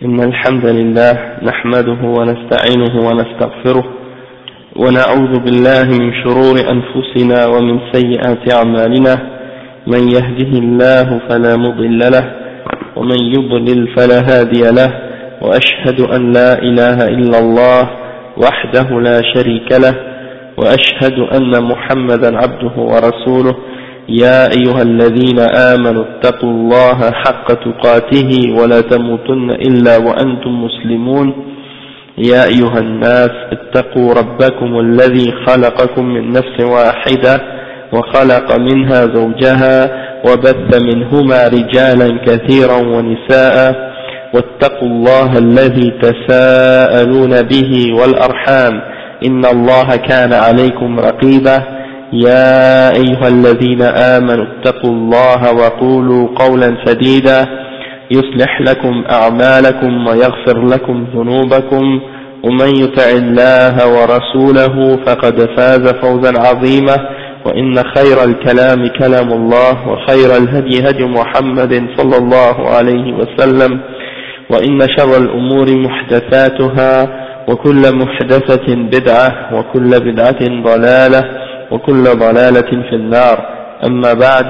إن الحمد لله نحمده ونستعينه ونستغفره ونعوذ بالله من شرور أنفسنا ومن سيئات أعمالنا من يهده الله فلا مضل له ومن يضلل فلا هادي له وأشهد أن لا إله إلا الله وحده لا شريك له وأشهد أن محمدا عبده ورسوله يا أيها الذين آمنوا اتقوا الله حق تقاته ولا تموتن إلا وأنتم مسلمون يا أيها الناس اتقوا ربكم الذي خلقكم من نفس واحدة وخلق منها زوجها وبث منهما رجالا كثيرا ونساء واتقوا الله الذي تساءلون به والأرحام إن الله كان عليكم رقيبا يا أيها الذين آمنوا اتقوا الله وقولوا قولا سديدا يصلح لكم أعمالكم ويغفر لكم ذنوبكم ومن يطع الله ورسوله فقد فاز فوزا عظيما وإن خير الكلام كلام الله وخير الهدي هدي محمد صلى الله عليه وسلم وإن شر الأمور محدثاتها وكل محدثة بدعة وكل بدعة ضلالة وكل ضلالة في النار أما بعد.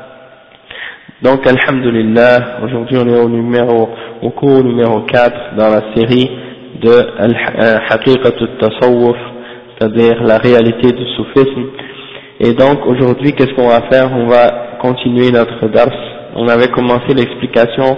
Donc alhamdulillah, aujourd'hui on est au cours numéro 4 dans la série de Haqiqat al-Tasawwuf, c'est-à-dire la réalité du soufisme. Et donc aujourd'hui qu'est-ce qu'on va faire? On va continuer notre dars. On avait commencé l'explication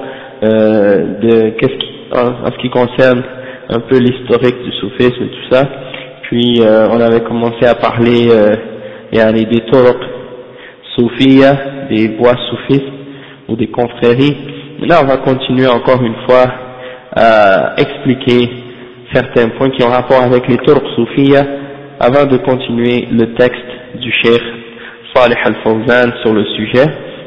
de en ce qui concerne un peu l'historique du soufisme et tout ça. Puis on avait commencé à parler des turuq soufiyya, des voies soufistes ou des confréries. Là on va continuer encore une fois à expliquer certains points qui ont rapport avec les turuq soufiyya avant de continuer le texte du cheikh Salih al-Fawzan sur le sujet.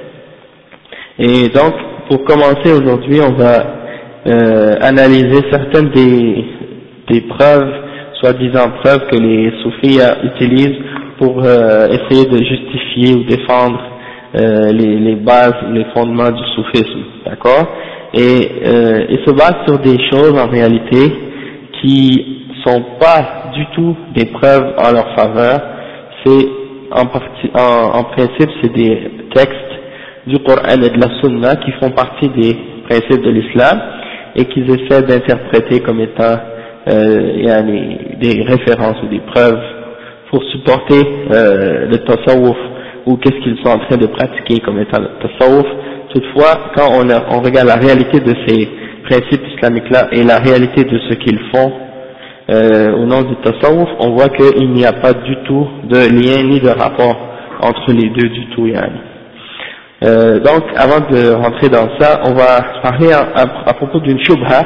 Et donc pour commencer aujourd'hui on va analyser certaines des preuves, soi-disant preuves que les soufis utilisent pour essayer de justifier ou défendre les bases, les fondements du soufisme, d'accord? Et ils se basent sur des choses en réalité qui sont pas du tout des preuves en leur faveur. C'est en principe c'est des textes du Coran et de la Sunna qui font partie des principes de l'islam et qu'ils essaient d'interpréter comme étant des références ou des preuves pour supporter le tasawwuf ou qu'est-ce qu'ils sont en train de pratiquer comme étant le tasawwuf. Toutefois, quand on regarde la réalité de ces principes islamiques-là et la réalité de ce qu'ils font au nom du tasawwuf, on voit qu'il n'y a pas du tout de lien ni de rapport entre les deux du tout. Donc, avant de rentrer dans ça, on va parler à propos d'une shubha,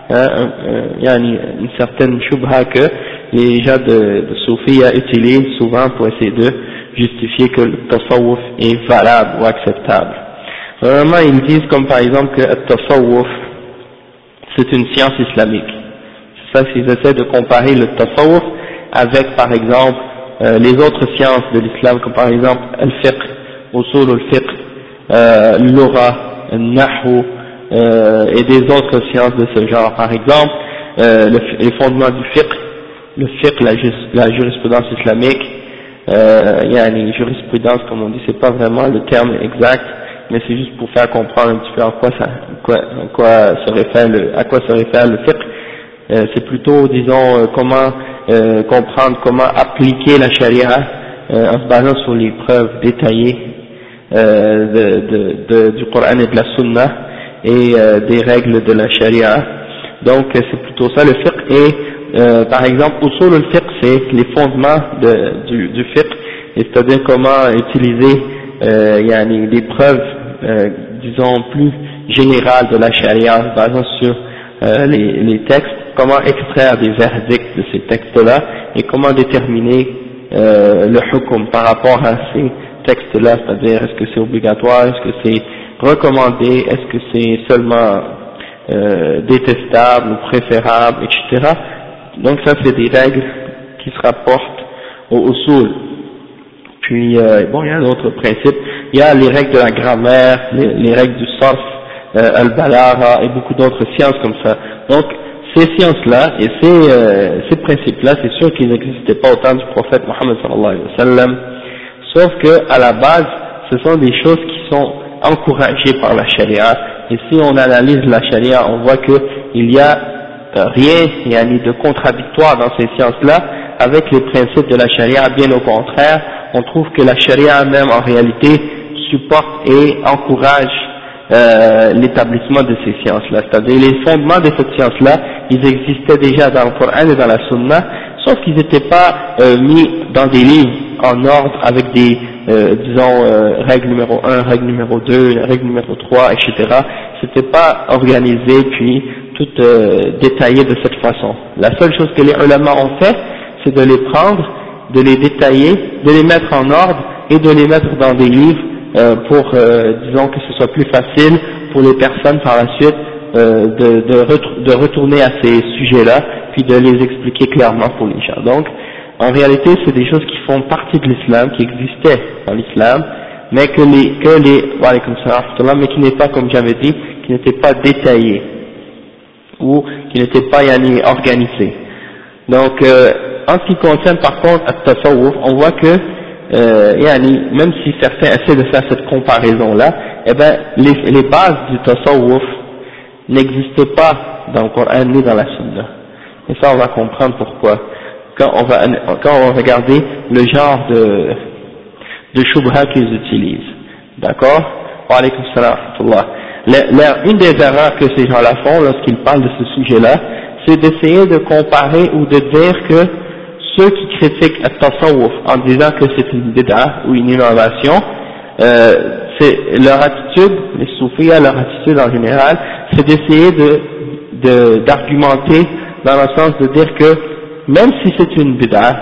une certaine shubha que les gens de Soufia utilisent souvent pour essayer de justifier que le tasawwuf est valable ou acceptable. Vraiment, ils disent comme par exemple que le tasawwuf c'est une science islamique. C'est ça qu'ils essaient de comparer le tasawwuf avec par exemple les autres sciences de l'islam comme par exemple al-fiqh, usul al-fiqh, l'ura, al-nahu et des autres sciences de ce genre. Par exemple, les fondements du fiqh, le fiqh, la jurisprudence islamique, jurisprudence comme on dit, c'est pas vraiment le terme exact, mais c'est juste pour faire comprendre un petit peu à quoi se réfère le fiqh. C'est plutôt, disons, comment comprendre, comment appliquer la charia en se basant sur les preuves détaillées du Coran et de la Sunna et des règles de la charia. Donc c'est plutôt ça le fiqh. Et par exemple usul al-fiqh c'est les fondements du fiqh, c'est-à-dire comment utiliser des preuves disons plus générales de la charia en se basant sur les textes, comment extraire des verdicts de ces textes-là et comment déterminer le hukm par rapport à ces textes-là, c'est-à-dire est-ce que c'est obligatoire, est-ce que c'est recommandé, est-ce que c'est seulement détestable ou préférable, etc. Donc ça c'est des règles qui se rapportent au usul. Puis il y a d'autres principes, il y a les règles de la grammaire, les règles du sarf, al-balagha et beaucoup d'autres sciences comme ça. Donc ces sciences-là et ces principes-là, c'est sûr qu'ils n'existaient pas au temps du prophète Mohammed sallallahu alayhi wa sallam, sauf que à la base, ce sont des choses qui sont encouragées par la charia, et si on analyse la charia, on voit qu'il y a rien, il y a ni de contradictoire dans ces sciences-là avec les principes de la charia, bien au contraire, on trouve que la charia même en réalité supporte et encourage l'établissement de ces sciences-là, c'est-à-dire les fondements de cette science-là, ils existaient déjà dans le Coran et dans la Sunna, sauf qu'ils n'étaient pas mis dans des livres en ordre avec des, règle numéro 1, règle numéro 2, règle numéro 3, etc. C'était pas organisé puis tout détaillé de cette façon. La seule chose que les ulama ont fait, c'est de les prendre, de les détailler, de les mettre en ordre et de les mettre dans des livres pour, disons, que ce soit plus facile pour les personnes par la suite de retourner à ces sujets-là, puis de les expliquer clairement pour les gens. Donc, en réalité, c'est des choses qui font partie de l'islam, qui existaient dans l'islam, mais mais qui n'est pas, comme j'avais dit, qui n'étaient pas détaillées ou qui n'étaient pas organisées. Donc, en ce qui concerne par contre at-tasawwuf, on voit que même si certains essaient de faire cette comparaison-là, eh ben les bases du tasawwuf n'existaient pas dans le Coran ni dans la Sunna. Et ça, on va comprendre pourquoi. Quand on va regarder le genre de shubha qu'ils utilisent. D'accord? Wa alaykum salam wa rahmatullah. Une des erreurs que ces gens-là font lorsqu'ils parlent de ce sujet-là, c'est d'essayer de comparer ou de dire que ceux qui critiquent at-tasawwuf en disant que c'est une bid'a ou une innovation, c'est leur attitude, les soufis, leur attitude en général, c'est d'essayer d'argumenter dans le sens de dire que même si c'est une bid'a,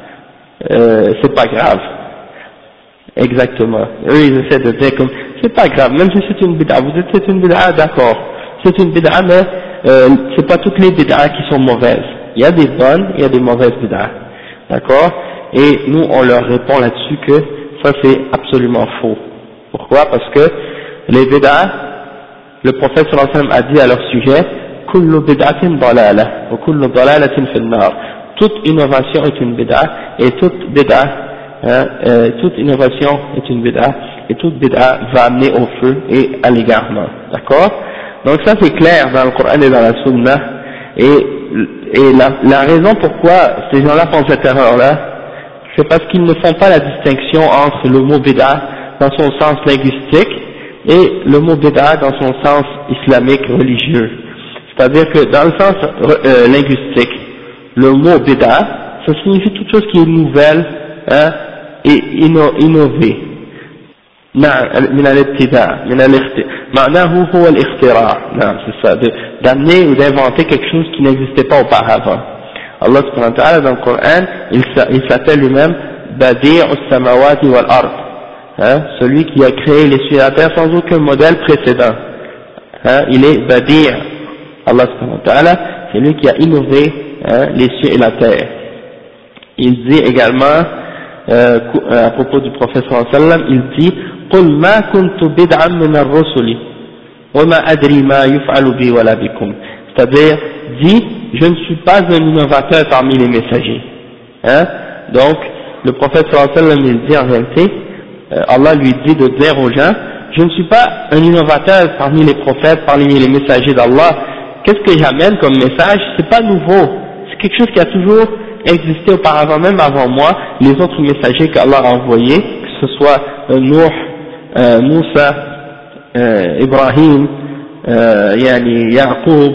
c'est pas grave. Exactement. Eux, ils essaient de dire comme, c'est pas grave, même si c'est une bid'a, vous dites c'est une bid'a, d'accord. C'est une bid'a, mais c'est pas toutes les bid'a qui sont mauvaises. Il y a des bonnes, il y a des mauvaises bid'a. D'accord? Et nous, on leur répond là-dessus que ça c'est absolument faux. Pourquoi? Parce que les bid'a, le prophète sallallahu alayhi wa sallam a dit à leur sujet, kullu bid'atin dalala, wa kullu dalalatin fil nar. Toute innovation est une bid'a, et toute bid'a, toute innovation est une bid'a, et toute bid'a va amener au feu et à l'égarement. D'accord? Donc ça c'est clair dans le Coran et dans la Sunna, et la raison pourquoi ces gens-là font cette erreur-là, c'est parce qu'ils ne font pas la distinction entre le mot bid'a dans son sens linguistique et le mot bid'a dans son sens islamique religieux. C'est-à-dire que dans le sens linguistique, le mot bid'a, ça signifie toute chose qui est nouvelle et innovée. من الابتداع معناه هو الاختراع c'est ça, d'amener ou d'inventer quelque chose qui n'existait pas auparavant. Allah subhanahu wa ta'ala dans le Coran, il s'appelle lui-même Badi' as-samawati wal ard, celui qui a créé les cieux et la terre sans aucun modèle précédent. Il est Badi', Allah subhanahu wa ta'ala, c'est lui qui a innové les cieux et la terre. Il dit également à propos du prophète sallallahu alayhi wa sallam, il dit قل ما كنت بدعا من الرسل وما أدري ما يفعل بي ولا بكم, c'est-à-dire dit je ne suis pas un innovateur parmi les messagers. Donc le prophète sallallahu alayhi wa sallam il dit en réalité, Allah lui dit de dire aux gens, je ne suis pas un innovateur parmi les prophètes, parmi les messagers d'Allah. Qu'est-ce que j'amène comme message? C'est pas nouveau, c'est quelque chose qui a toujours existé auparavant, même avant moi. Les autres messagers qu'Allah a envoyés, que ce soit Nuh, Moussa, Ibrahim, Yaqub,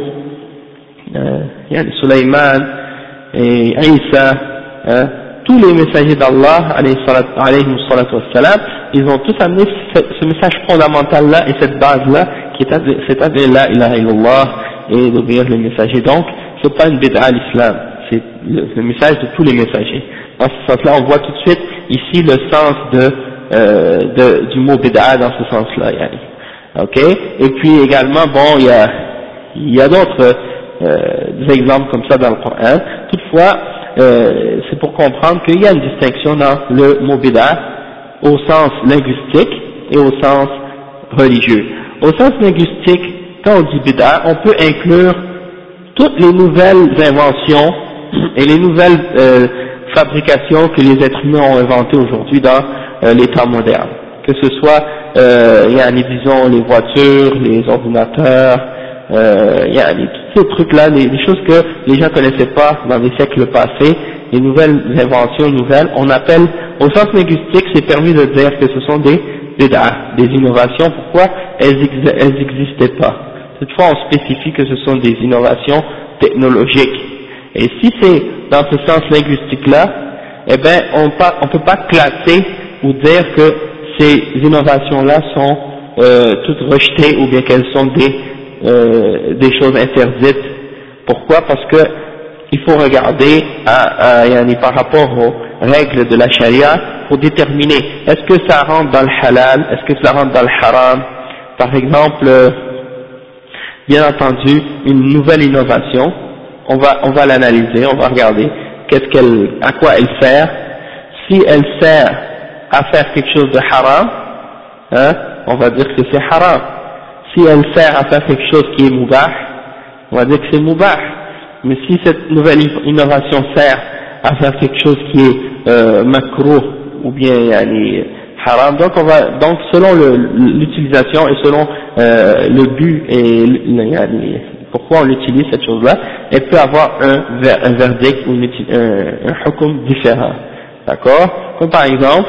Sulayman et Isa, tous les messagers d'Allah, alayhi salatu wassalam, ils ont tous amené ce message fondamental là et cette base là, c'est-à-dire la ilaha illallah et d'obéir les messagers. Donc c'est pas une bid'a à l'islam, c'est le message de tous les messagers. Dans ce sens-là, on voit tout de suite ici le sens du mot bid'a dans ce sens-là. Ok? Et puis également, bon, il y a d'autres exemples comme ça dans le Coran. Toutefois, c'est pour comprendre qu'il y a une distinction dans le mot bid'a au sens linguistique et au sens religieux. au sens linguistique, quand on dit bid'a, on peut inclure toutes les nouvelles inventions et les nouvelles fabrications que les êtres humains ont inventées aujourd'hui dans les temps modernes. Que ce soit, disons, les voitures, les ordinateurs, tous ces trucs-là, les choses que les gens connaissaient pas dans les siècles passés, les nouvelles inventions nouvelles, on appelle, au sens linguistique, c'est permis de dire que ce sont des innovations. Pourquoi? Elles n'existaient pas. Toutefois, on spécifie que ce sont des innovations technologiques. Et si c'est dans ce sens linguistique-là, eh ben, on peut pas classer ou dire que ces innovations-là sont toutes rejetées ou bien qu'elles sont des choses interdites. Pourquoi? Parce que il faut regarder par rapport aux règles de la charia pour déterminer est-ce que ça rentre dans le halal, est-ce que ça rentre dans le haram. Par exemple, bien entendu, une nouvelle innovation, on va l'analyser, on va regarder à quoi elle sert. Si elle sert à faire quelque chose de haram, on va dire que c'est haram. Si elle sert à faire quelque chose qui est mubah, on va dire que c'est mubah. Mais si cette nouvelle innovation sert à faire quelque chose qui est makruh ou bien haram, donc selon l'utilisation et selon le but et pourquoi on utilise cette chose-là, elle peut avoir un verdict ou un hukum différent. D'accord? Comme par exemple,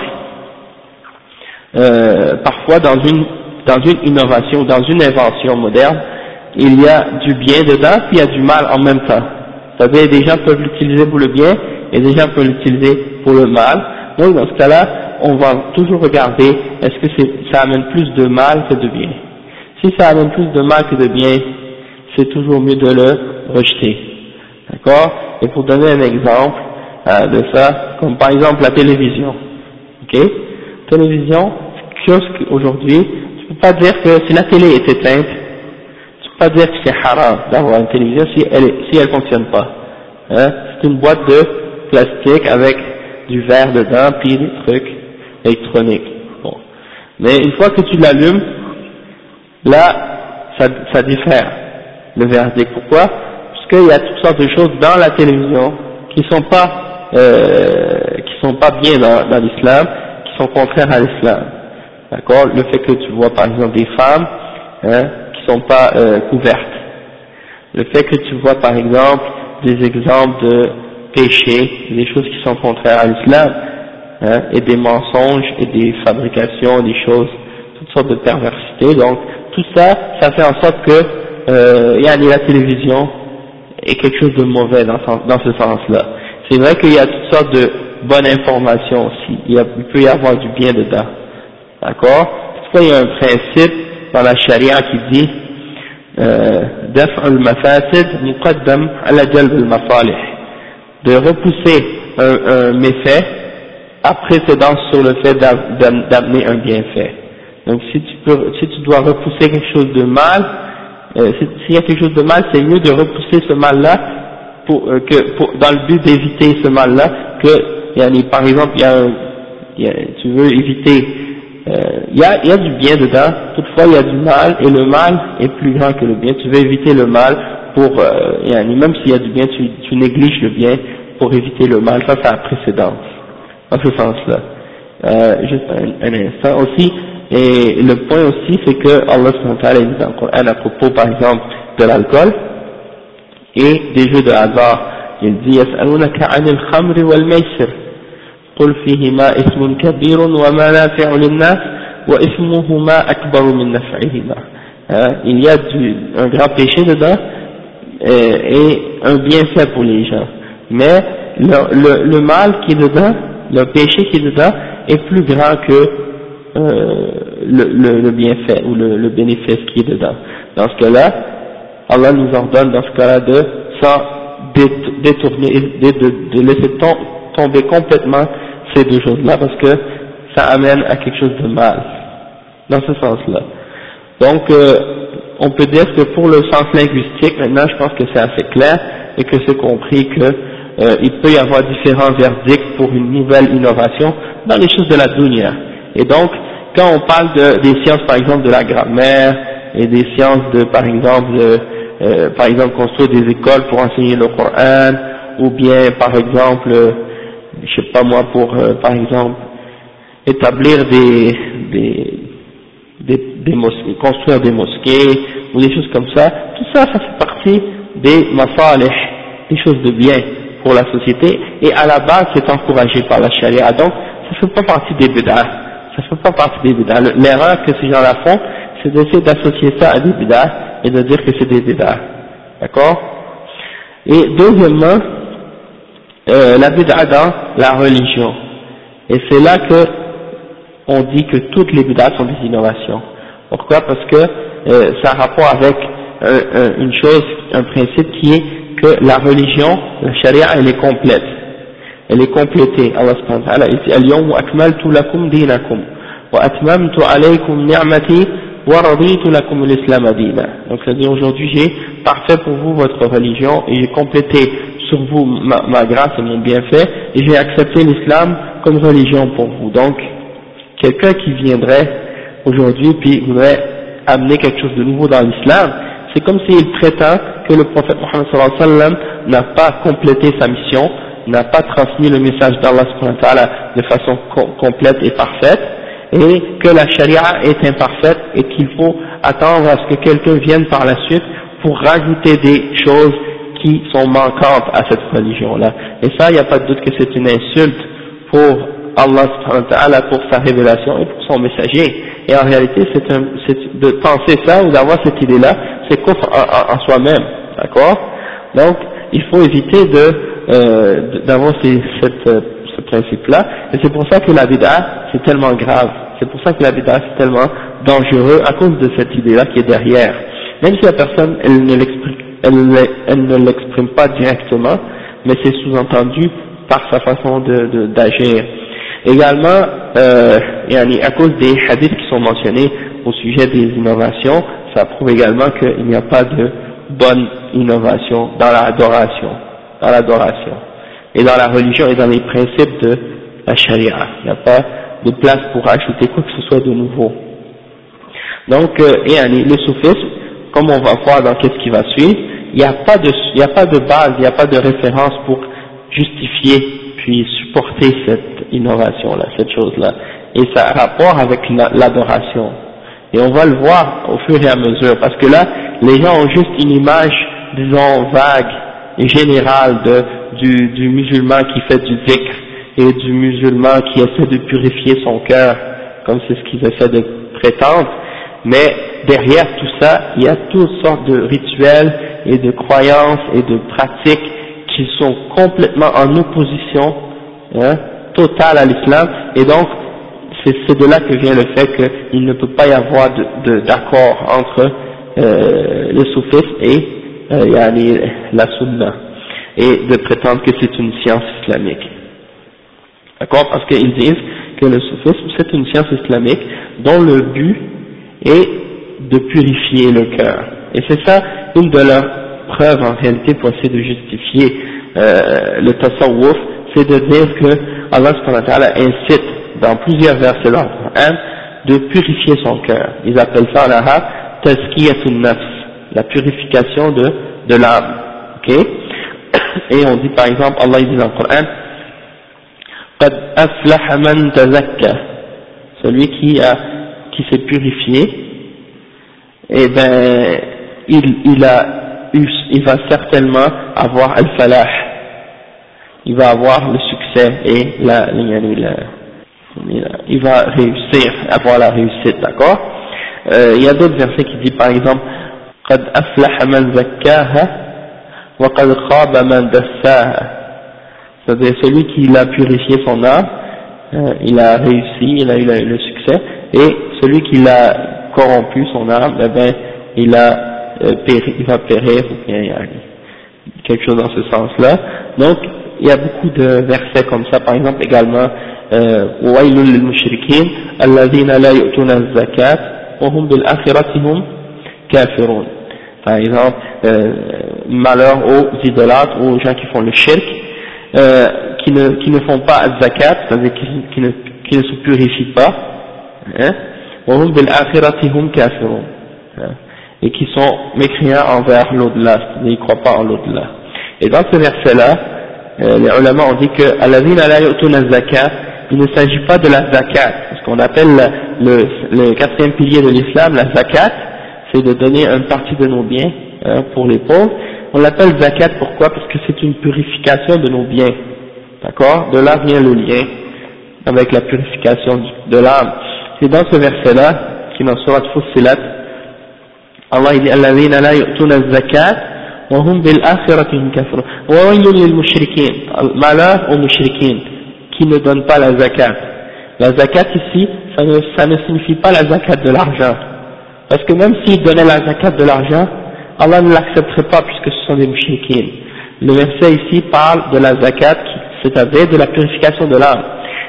parfois dans une innovation, dans une invention moderne, il y a du bien dedans, puis il y a du mal en même temps. C'est-à-dire, des gens peuvent l'utiliser pour le bien, et des gens peuvent l'utiliser pour le mal. Donc, dans ce cas-là, on va toujours regarder, est-ce que ça amène plus de mal que de bien. Si ça amène plus de mal que de bien, c'est toujours mieux de le rejeter. D'accord? Et pour donner un exemple de ça, comme par exemple la télévision. Ok? Télévision, c'est quelque chose qu'aujourd'hui, tu peux pas dire que si la télé est éteinte, pas dire que c'est haram d'avoir une télévision si elle fonctionne pas. C'est une boîte de plastique avec du verre dedans puis des trucs électroniques. Bon. Mais une fois que tu l'allumes, là, ça diffère le verdict. Pourquoi? Parce qu'il y a toutes sortes de choses dans la télévision qui sont pas bien dans l'islam, qui sont contraires à l'islam. D'accord? Le fait que tu vois par exemple des femmes, qui sont pas couvertes. Le fait que tu vois par exemple des exemples de péchés, des choses qui sont contraires à l'islam, et des mensonges et des fabrications, des choses, toutes sortes de perversités. Donc tout ça, ça fait en sorte que la télévision est quelque chose de mauvais dans ce sens-là. C'est vrai qu'il y a toutes sortes de bonnes informations aussi. Il peut y avoir du bien dedans. D'accord? Toutefois, il y a un principe dans la charia qui dit دفع المفاسد مقدم على جلب المصالح, de repousser un méfait à précédence sur le fait d'amener un bienfait. Donc si tu dois repousser quelque chose de mal, s'il y a quelque chose de mal, c'est mieux de repousser ce mal-là dans le but d'éviter ce mal-là que par exemple tu veux éviter. Il y a du bien dedans, toutefois il y a du mal, et le mal est plus grand que le bien. Tu veux éviter le mal même s'il y a du bien, tu négliges le bien pour éviter le mal. Ça a précédence, dans ce sens-là. Juste un instant aussi, et le point aussi, c'est que Allah subhanahu wa ta'ala dit dans le Coran à propos, par exemple, de l'alcool et des jeux de hasard. Il dit يسألونك عن الخمر والميسر قل فيهما اسم كبير ومنافع للناس واسمهما أكبر من نفعهما. Il y a un grand péché dedans et un bienfait pour les gens, mais le mal qui est dedans, le péché qui est dedans est plus grand que le bienfait ou le bénéfice qui est dedans. Dans ce cas-là, Allah nous ordonne dans ce cas-là de s'en détourner, de laisser tomber complètement ces deux choses-là, parce que ça amène à quelque chose de mal, dans ce sens-là. Donc, on peut dire que pour le sens linguistique, maintenant je pense que c'est assez clair, et que c'est compris que il peut y avoir différents verdicts pour une nouvelle innovation dans les choses de la dunya. Et donc, quand on parle des sciences, par exemple, de la grammaire, et des sciences de, par exemple construire des écoles pour enseigner le Coran, ou bien par exemple, je sais pas moi, pour par exemple établir des mosquées, construire des mosquées ou des choses comme ça, tout ça, ça fait partie des masalih, des choses de bien pour la société, et à la base c'est encouragé par la charia, donc ça fait pas partie des bid'ah, ça fait pas partie des bid'ah. L'erreur que ces gens-là font, c'est d'essayer d'associer ça à des bid'ah et de dire que c'est des bid'ah, d'accord? Et deuxièmement, la bid'ah dans la religion, et c'est là que on dit que toutes les bid'ah sont des innovations. Pourquoi? Parce que ça a rapport avec une chose, un principe qui est que la religion, la charia, elle est complète. Elle est complétée. Allah subhanahu wa ta'ala dit Al-yawma akmaltu lakum dinakum wa atmamtu alaykum ni'mati wa raditu lakum al-islam dina. Donc c'est-à-dire aujourd'hui j'ai parfait pour vous votre religion et j'ai complété sur vous ma grâce et mon bienfait et j'ai accepté l'islam comme religion pour vous. Donc quelqu'un qui viendrait aujourd'hui puis voudrait amener quelque chose de nouveau dans l'islam, c'est comme s'il prétend que le prophète Mohammed sallallahu alayhi wa sallam n'a pas complété sa mission, n'a pas transmis le message d'Allah subhanahu wa ta'ala de façon complète et parfaite, et que la charia est imparfaite et qu'il faut attendre à ce que quelqu'un vienne par la suite pour rajouter des choses qui sont manquantes à cette religion-là. Et ça, il n'y a pas de doute que c'est une insulte pour Allah subhanahu wa ta'ala, pour sa révélation et pour son messager. Et en réalité, c'est de penser ça ou d'avoir cette idée-là, c'est kufr en soi-même, d'accord? Donc, il faut éviter d'avoir ce principe-là, et c'est pour ça que la bid'a c'est tellement grave, c'est pour ça que la bid'a c'est tellement dangereux à cause de cette idée-là qui est derrière. Même si la personne elle ne l'exprime pas directement, mais c'est sous-entendu par sa façon d'agir. Également, à cause des hadiths qui sont mentionnés au sujet des innovations, ça prouve également qu'il n'y a pas de bonne innovation dans l'adoration, et dans la religion et dans les principes de la charia. Il n'y a pas de place pour ajouter quoi que ce soit de nouveau. Donc, le soufisme, comme on va voir dans qu'est-ce qui va suivre, il n'y a pas de base, il n'y a pas de référence pour justifier puis supporter cette innovation-là, cette chose-là. Et ça a rapport avec l'adoration. Et on va le voir au fur et à mesure, parce que là, les gens ont juste une image, disons, vague et générale du musulman qui fait du dhikr et du musulman qui essaie de purifier son cœur, comme c'est ce qu'ils essaient de prétendre. Mais derrière tout ça, il y a toutes sortes de rituels et de croyances et de pratiques qui sont complètement en opposition totale à l'islam, et donc c'est de là que vient le fait qu'il ne peut pas y avoir d'accord entre le soufisme et la sunna, et de prétendre que c'est une science islamique. D'accord? Parce qu'ils disent que le soufisme c'est une science islamique dont le but est de purifier le cœur. Et c'est ça une de leurs preuves en réalité pour essayer de justifier le tasawwuf, c'est de dire que Allah subhanahu wa ta'ala incite dans plusieurs versets dans le Coran de purifier son cœur. Ils appellent ça en arabe tazkiyatun nafs, la purification de l'âme. Ok? Et on dit par exemple, Allah dit dans le Coran, qad aflaha man tazakka, celui qui s'est purifié, et ben il va certainement avoir al-falah, il va avoir le succès et il va réussir, avoir la réussite, d'accord? Il y a d'autres versets qui disent par exemple قد أفلح من زكاها وقد خاب من دساها, c'est-à-dire celui qui a purifié son âme, il a réussi, il a eu le succès, et celui qui a corrompu son âme, eh ben il va périr, ou bien il y a quelque chose dans ce sens-là. Donc il y a beaucoup de versets comme ça, par exemple également وَوَيْلٌ لِلْمُشْرِكِينَ الَّذِينَ لَا يُؤْتُونَ الزَّكَاةَ وَهُمْ بِالْآخِرَةِ هُمْ كَافِرُونَ. Par exemple, malheur aux idolâtres, aux gens qui font le shirk, qui ne font pas zakat, c'est-à-dire qui ne se purifient pas, وَهُمْ بِالْآخِرَةِ هُمْ كَافِرُونَ, hein, et qui sont mécréants envers l'au-delà, c'est-à-dire ils ne croient pas en l'au-delà. Et dans ce verset-là, les ulama ont dit que alladhina la yu'tuna az-zakat, il ne s'agit pas de la zakat, ce qu'on appelle le quatrième pilier de l'islam, la zakat, c'est de donner une partie de nos biens, hein, pour les pauvres. On l'appelle zakat, pourquoi? Parce que c'est une purification de nos biens, d'accord? De là vient le lien avec la purification de l'âme. C'est dans ce verset-là, qui est dans Surat Fussilat, Allah dit alladhina la yu'tuna az-zakat wa hum bil akhirati hum kafirun wa waylun lil mushrikin, malheur aux mushrikin qui ne donnent pas la zakat. La zakat ici, ça ne signifie pas la zakat de l'argent, parce que même s'ils donnaient la zakat de l'argent, Allah ne l'accepterait pas puisque ce sont des mushrikin. Le verset ici parle de la zakat, c'est-à-dire de la purification de l'âme.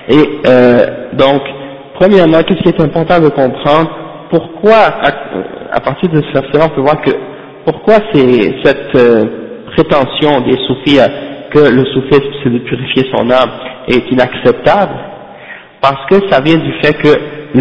Et donc, premièrement, qu'est-ce qui est important de comprendre? Pourquoi, à partir de ce verset-là, on peut voir que pourquoi c'est cette prétention des soufis que le soufisme c'est de purifier son âme est inacceptable? Parce que ça vient du fait que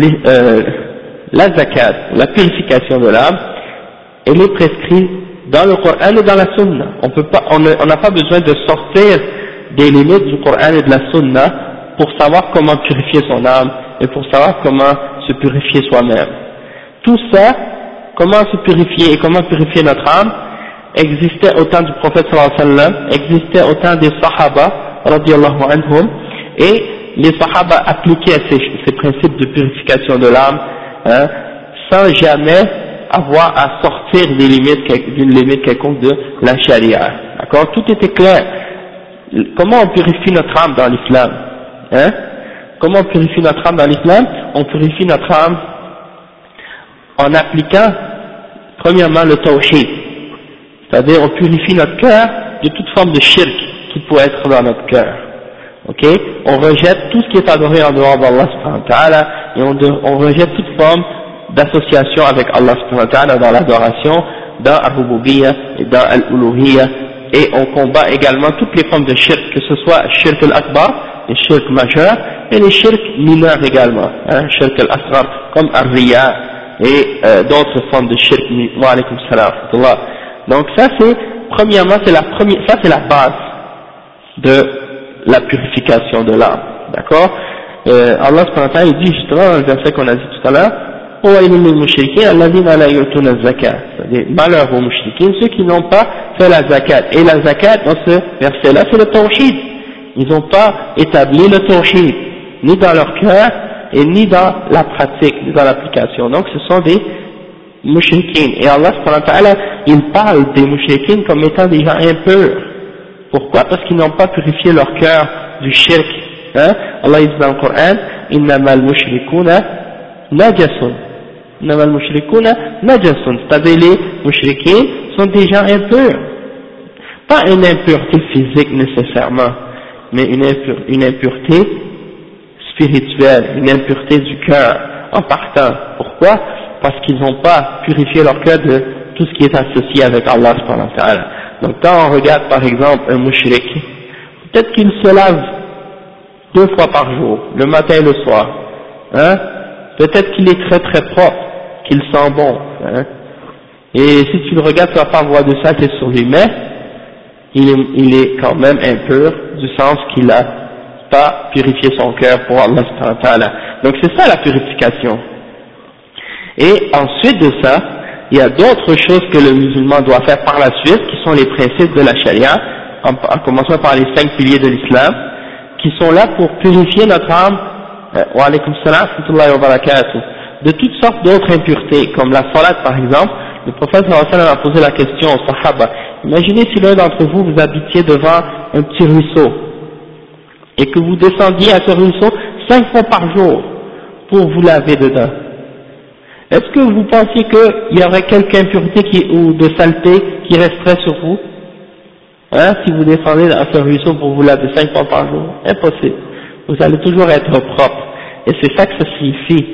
la zakat, la purification de l'âme, elle est prescrite dans le Coran et dans la Sunna. On n'a pas besoin de sortir des limites du Coran et de la Sunna pour savoir comment purifier son âme et pour savoir comment se purifier soi-même. Tout ça, comment se purifier et comment purifier notre âme, existait au temps du prophète sallallahu alayhi wa sallam, existait au temps des sahaba radiyallahu anhum, et les sahaba appliquaient ces principes de purification de l'âme, hein, sans jamais avoir à sortir d'une limite quelconque de la charia. D'accord? Tout était clair. Comment on purifie notre âme dans l'islam? Hein? Comment on purifie notre âme dans l'islam? On purifie notre âme en appliquant premièrement le tawhid, c'est-à-dire on purifie notre cœur de toute forme de shirk qui pourrait être dans notre cœur. Ok? On rejette tout ce qui est adoré en dehors d'Allah subhanahu wa ta'ala, et on rejette toute forme d'association avec Allah subhanahu wa ta'ala dans l'adoration, dans al-rububiyyah et dans al-uluhiyyah, et on combat également toutes les formes de shirk, que ce soit shirk al-akbar, les shirk majeurs, et les shirk mineurs également, hein, shirk al-asghar, comme al-riya, et d'autres formes de shirk. Wa alaykum salam. Donc ça c'est, premièrement, ça c'est la base de la purification de l'âme, d'accord? Allah subhanahu wa ta'ala dit justement dans le verset qu'on a dit tout à l'heure, c'est-à-dire malheur aux mushrikin, ceux qui n'ont pas fait la zakat. Et la zakat dans ce verset-là c'est le tawhid. Ils n'ont pas établi le tawhid, ni dans leur cœur et ni dans la pratique, ni dans l'application. Donc ce sont des mushrikin. Et Allah subhanahu wa ta'ala, il parle des mushrikin comme étant des gens impurs. Pourquoi? Parce qu'ils n'ont pas purifié leur cœur du shirk. Hein? Allah dit dans le Coran, innamal mushrikuna najasun. Innamal mushrikuna najasun. C'est-à-dire les mushrikins sont des gens impurs. Pas une impureté physique nécessairement, mais une impureté spirituelle, une impureté du cœur en partant. Pourquoi? Parce qu'ils n'ont pas purifié leur cœur de tout ce qui est associé avec Allah subhanahu wa ta'ala. Donc quand on regarde par exemple un mushrik, peut-être qu'il se lave 2 fois par jour, le matin et le soir, hein? Peut-être qu'il est très très propre, qu'il sent bon, hein? Et si tu le regardes, tu vas pas voir de ça qui est sur lui, mais il est quand même impur, du sens qu'il a pas purifié son cœur pour Allah subhanahu wa ta'ala. Donc c'est ça la purification. Et ensuite de ça, il y a d'autres choses que le musulman doit faire par la suite, qui sont les principes de la charia, en commençant par les 5 piliers de l'islam, qui sont là pour purifier notre âme, wa alaykum salam wa barakatuh, de toutes sortes d'autres impuretés, comme la salat par exemple. Le prophète sallallahu alayhi wa sallam a posé la question aux sahaba, imaginez si l'un d'entre vous, vous habitiez devant un petit ruisseau, et que vous descendiez à ce ruisseau 5 fois par jour, pour vous laver dedans. Est-ce que vous pensiez qu'il y aurait quelque impureté ou de saleté qui resterait sur vous, hein, si vous descendez à ce ruisseau pour vous laver 5 fois par jour? Impossible. Vous allez toujours être propre. Et c'est ça que ça signifie.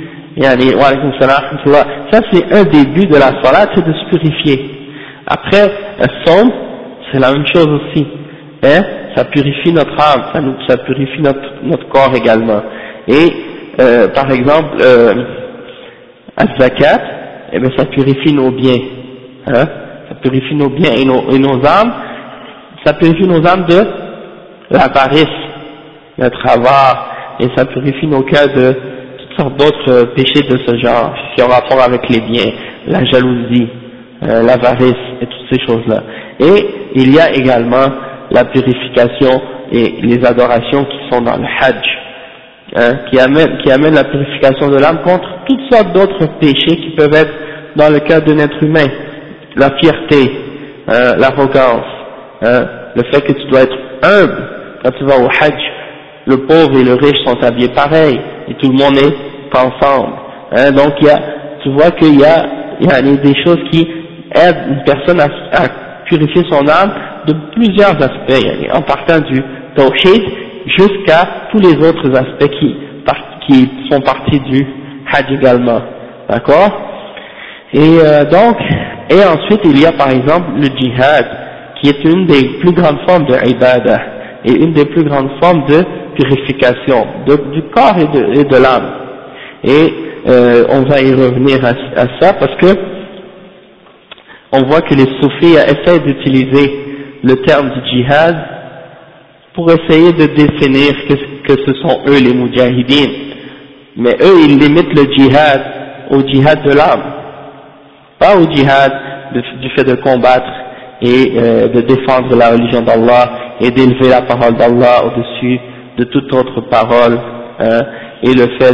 Ça c'est un des buts de la salat, c'est de se purifier. Après, somme, c'est la même chose aussi. Hein, ça purifie notre âme, ça purifie notre corps également. Et par exemple, al-zakat, eh bien ça purifie nos biens, hein, ça purifie nos biens et nos âmes, ça purifie nos âmes de l'avarice, d'être avare, et ça purifie nos cœurs de toutes sortes d'autres péchés de ce genre, qui ont rapport avec les biens, la jalousie, l'avarice et toutes ces choses-là. Et il y a également la purification et les adorations qui sont dans le Hajj, hein, qui amènent la purification de l'âme contre toutes sortes d'autres péchés qui peuvent être dans le cœur d'un être humain, la fierté, l'arrogance, le fait que tu dois être humble. Quand tu vas au Hajj, le pauvre et le riche sont habillés pareil, et tout le monde est ensemble, hein, donc tu vois qu'il y a des choses qui aident une personne à purifier son âme de plusieurs aspects, en partant du tawhid jusqu'à tous les autres aspects qui font partie du Hajj également, d'accord? Et ensuite il y a par exemple le djihad, qui est une des plus grandes formes de ibadah, et une des plus grandes formes de purification du corps et de l'âme. Et on va y revenir à ça parce que on voit que les soufis essaient d'utiliser le terme du djihad pour essayer de définir que ce sont eux les moudjahidines. Mais eux ils limitent le djihad au djihad de l'âme, pas au djihad du fait de combattre et de défendre la religion d'Allah et d'élever la parole d'Allah au-dessus de toute autre parole, et le fait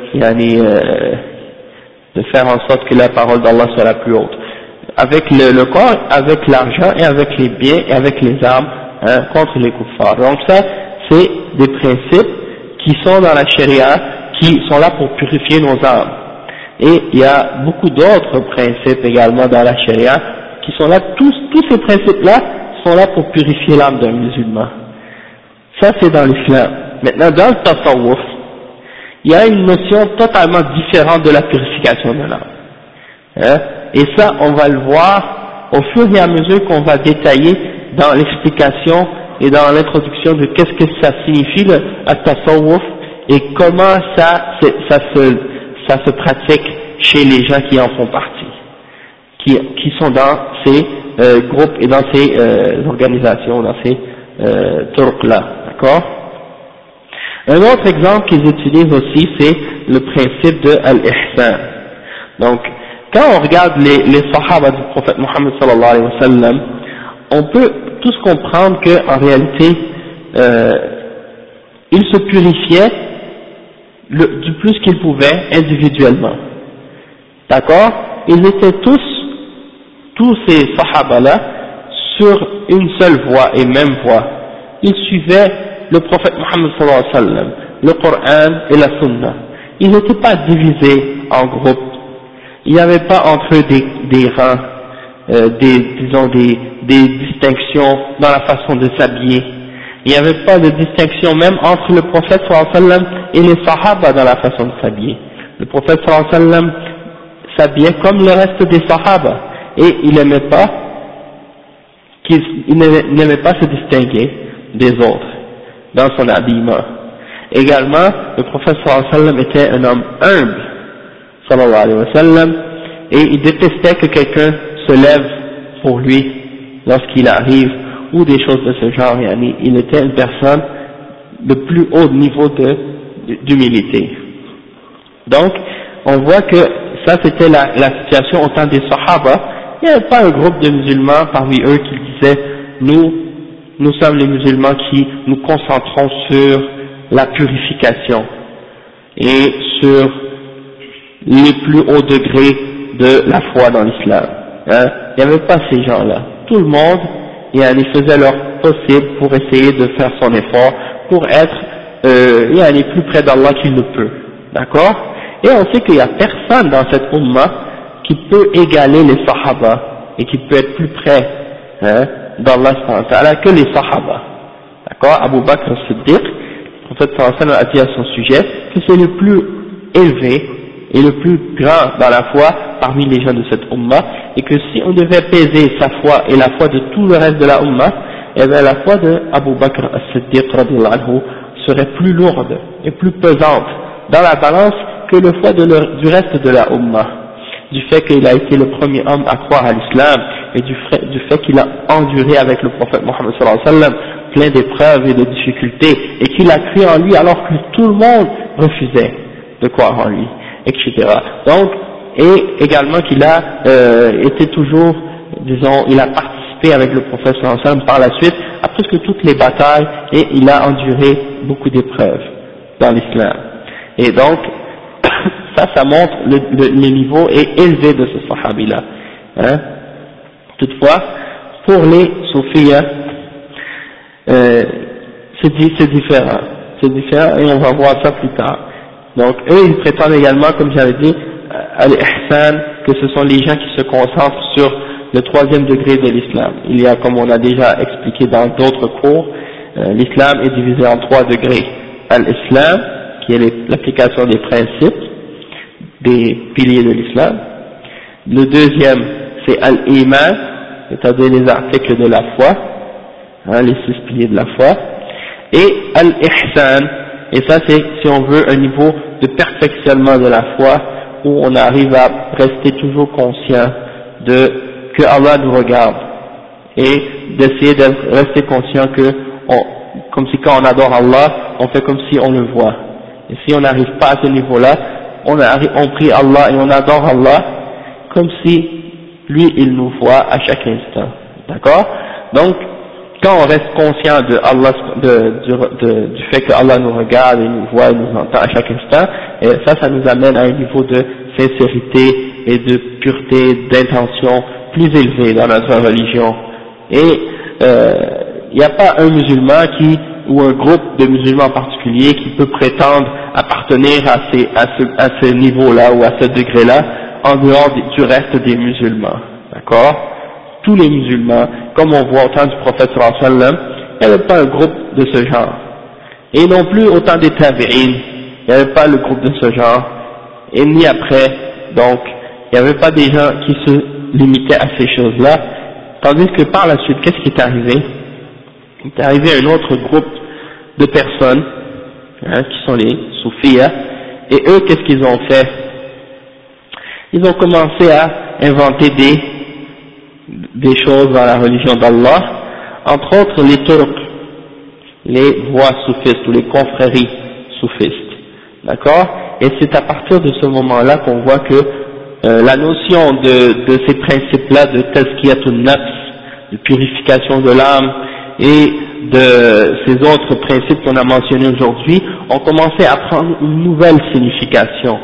de faire en sorte que la parole d'Allah soit la plus haute. Avec le corps, avec l'argent et avec les biens et avec les armes, contre les kuffars. Donc ça, c'est des principes qui sont dans la charia, qui sont là pour purifier nos âmes. Et il y a beaucoup d'autres principes également dans la charia qui sont là, tous ces principes-là sont là pour purifier l'âme d'un musulman. Ça c'est dans l'islam. Maintenant dans le tasawwuf, il y a une notion totalement différente de la purification de l'âme. Hein? Et ça on va le voir au fur et à mesure qu'on va détailler dans l'explication et dans l'introduction de qu'est-ce que ça signifie le tasawwuf et comment ça se pratique chez les gens qui en font partie, qui sont dans ces groupes et dans ces organisations, dans ces turcs-là, d'accord? Un autre exemple qu'ils utilisent aussi, c'est le principe de al-ihsan. Donc, quand on regarde les sahaba du prophète Mohammed sallallahu alayhi wa sallam, on peut tous comprendre qu'en réalité, ils se purifiaient du plus qu'ils pouvaient individuellement. D'accord? Ils étaient tous ces sahaba-là, sur une seule voie et même voie. Ils suivaient le prophète Mohammed sallallahu alayhi wa sallam, le Coran et la Sunna. Ils n'étaient pas divisés en groupes. Il n'y avait pas entre eux des rangs, des distinctions dans la façon de s'habiller. Il n'y avait pas de distinction même entre le prophète sallallahu alayhi wa sallam et les sahaba dans la façon de s'habiller. Le prophète sallallahu alayhi wa sallam s'habillait comme le reste des sahaba et il n'aimait pas se distinguer des autres dans son habillement. Également, le prophète sallallahu alayhi wa sallam était un homme humble, sallallahu alayhi wa sallam, et il détestait que quelqu'un se lève pour lui lorsqu'il arrive, ou des choses de ce genre. Il était une personne de plus haut niveau d'humilité. Donc, on voit que ça c'était la situation au temps des Sahaba. Il n'y avait pas un groupe de musulmans parmi eux qui disaient nous sommes les musulmans qui nous concentrons sur la purification et sur les plus hauts degrés de la foi dans l'islam. Il n'y avait pas ces gens-là. Tout le monde faisait leur possible pour essayer de faire son effort pour être plus près d'Allah qu'il le peut. D'accord? Et on sait qu'il n'y a personne dans cette umma qui peut égaler les sahaba et qui peut être plus près d'Allah que les sahaba. D'accord? Abu Bakr as-Siddiq, le prophète sallallahu alayhi wa sallam a dit à son sujet que c'est le plus élevé et le plus grand dans la foi parmi les gens de cette umma, et que si on devait peser sa foi et la foi de tout le reste de la umma, eh bien la foi de Abu Bakr as-Siddiq radiyallahu anhu serait plus lourde et plus pesante dans la balance que la foi du reste de la umma. du fait qu'il a été le premier homme à croire à l'islam, et du fait qu'il a enduré avec le prophète Mohammed sallallahu alayhi wa sallam plein d'épreuves et de difficultés, et qu'il a cru en lui alors que tout le monde refusait de croire en lui, etc. Donc, et également qu'il a été toujours, disons, il a participé avec le prophète sallallahu alayhi wa sallam par la suite à presque toutes les batailles, et il a enduré beaucoup d'épreuves dans l'islam. Et donc, ça montre le niveau élevé de ce sahabi-là. Hein. Toutefois, pour les soufis, c'est différent. C'est différent, et on va voir ça plus tard. Donc, eux, ils prétendent également, comme j'avais dit, à l'ihsan, que ce sont les gens qui se concentrent sur le troisième degré de l'islam. Il y a, comme on a déjà expliqué dans d'autres cours, l'islam est divisé en 3 degrés. Al-Islam, qui est l'application des principes, des piliers de l'islam. Le deuxième, c'est Al-Iman, c'est-à-dire les articles de la foi, hein, les 6 piliers de la foi. Et Al-Ihsan, et ça c'est, si on veut, un niveau de perfectionnement de la foi, où on arrive à rester toujours conscient que Allah nous regarde, et d'essayer de rester conscient que, comme si quand on adore Allah, on fait comme si on le voit. Et si on n'arrive pas à ce niveau-là, on prie Allah et on adore Allah comme si lui il nous voit à chaque instant. D'accord? Donc, quand on reste conscient de Allah, du fait que Allah nous regarde et nous voit et nous entend à chaque instant, et ça nous amène à un niveau de sincérité et de pureté, d'intention plus élevé dans notre religion. Et il n'y a pas un musulman ou un groupe de musulmans en particulier qui peut prétendre appartenir à ce niveau-là ou à ce degré-là en dehors du reste des musulmans. D'accord? Tous les musulmans, comme on voit au temps du prophète sallallahu alayhi wa sallam, il n'y avait pas un groupe de ce genre. Et non plus au temps des tabi'in, il n'y avait pas le groupe de ce genre. Et ni après, donc, il n'y avait pas des gens qui se limitaient à ces choses-là. Tandis que par la suite, qu'est-ce qui est arrivé? Il est arrivé un autre groupe de personnes, hein, qui sont les soufis, et eux, qu'est-ce qu'ils ont fait? Ils ont commencé à inventer des choses dans la religion d'Allah, entre autres les Turcs, les voies soufistes ou les confréries soufistes, d'accord? Et c'est à partir de ce moment-là qu'on voit que la notion de ces principes-là de tazkiyatun nafs, de purification de l'âme, et de ces autres principes qu'on a mentionnés aujourd'hui, ont commencé à prendre une nouvelle signification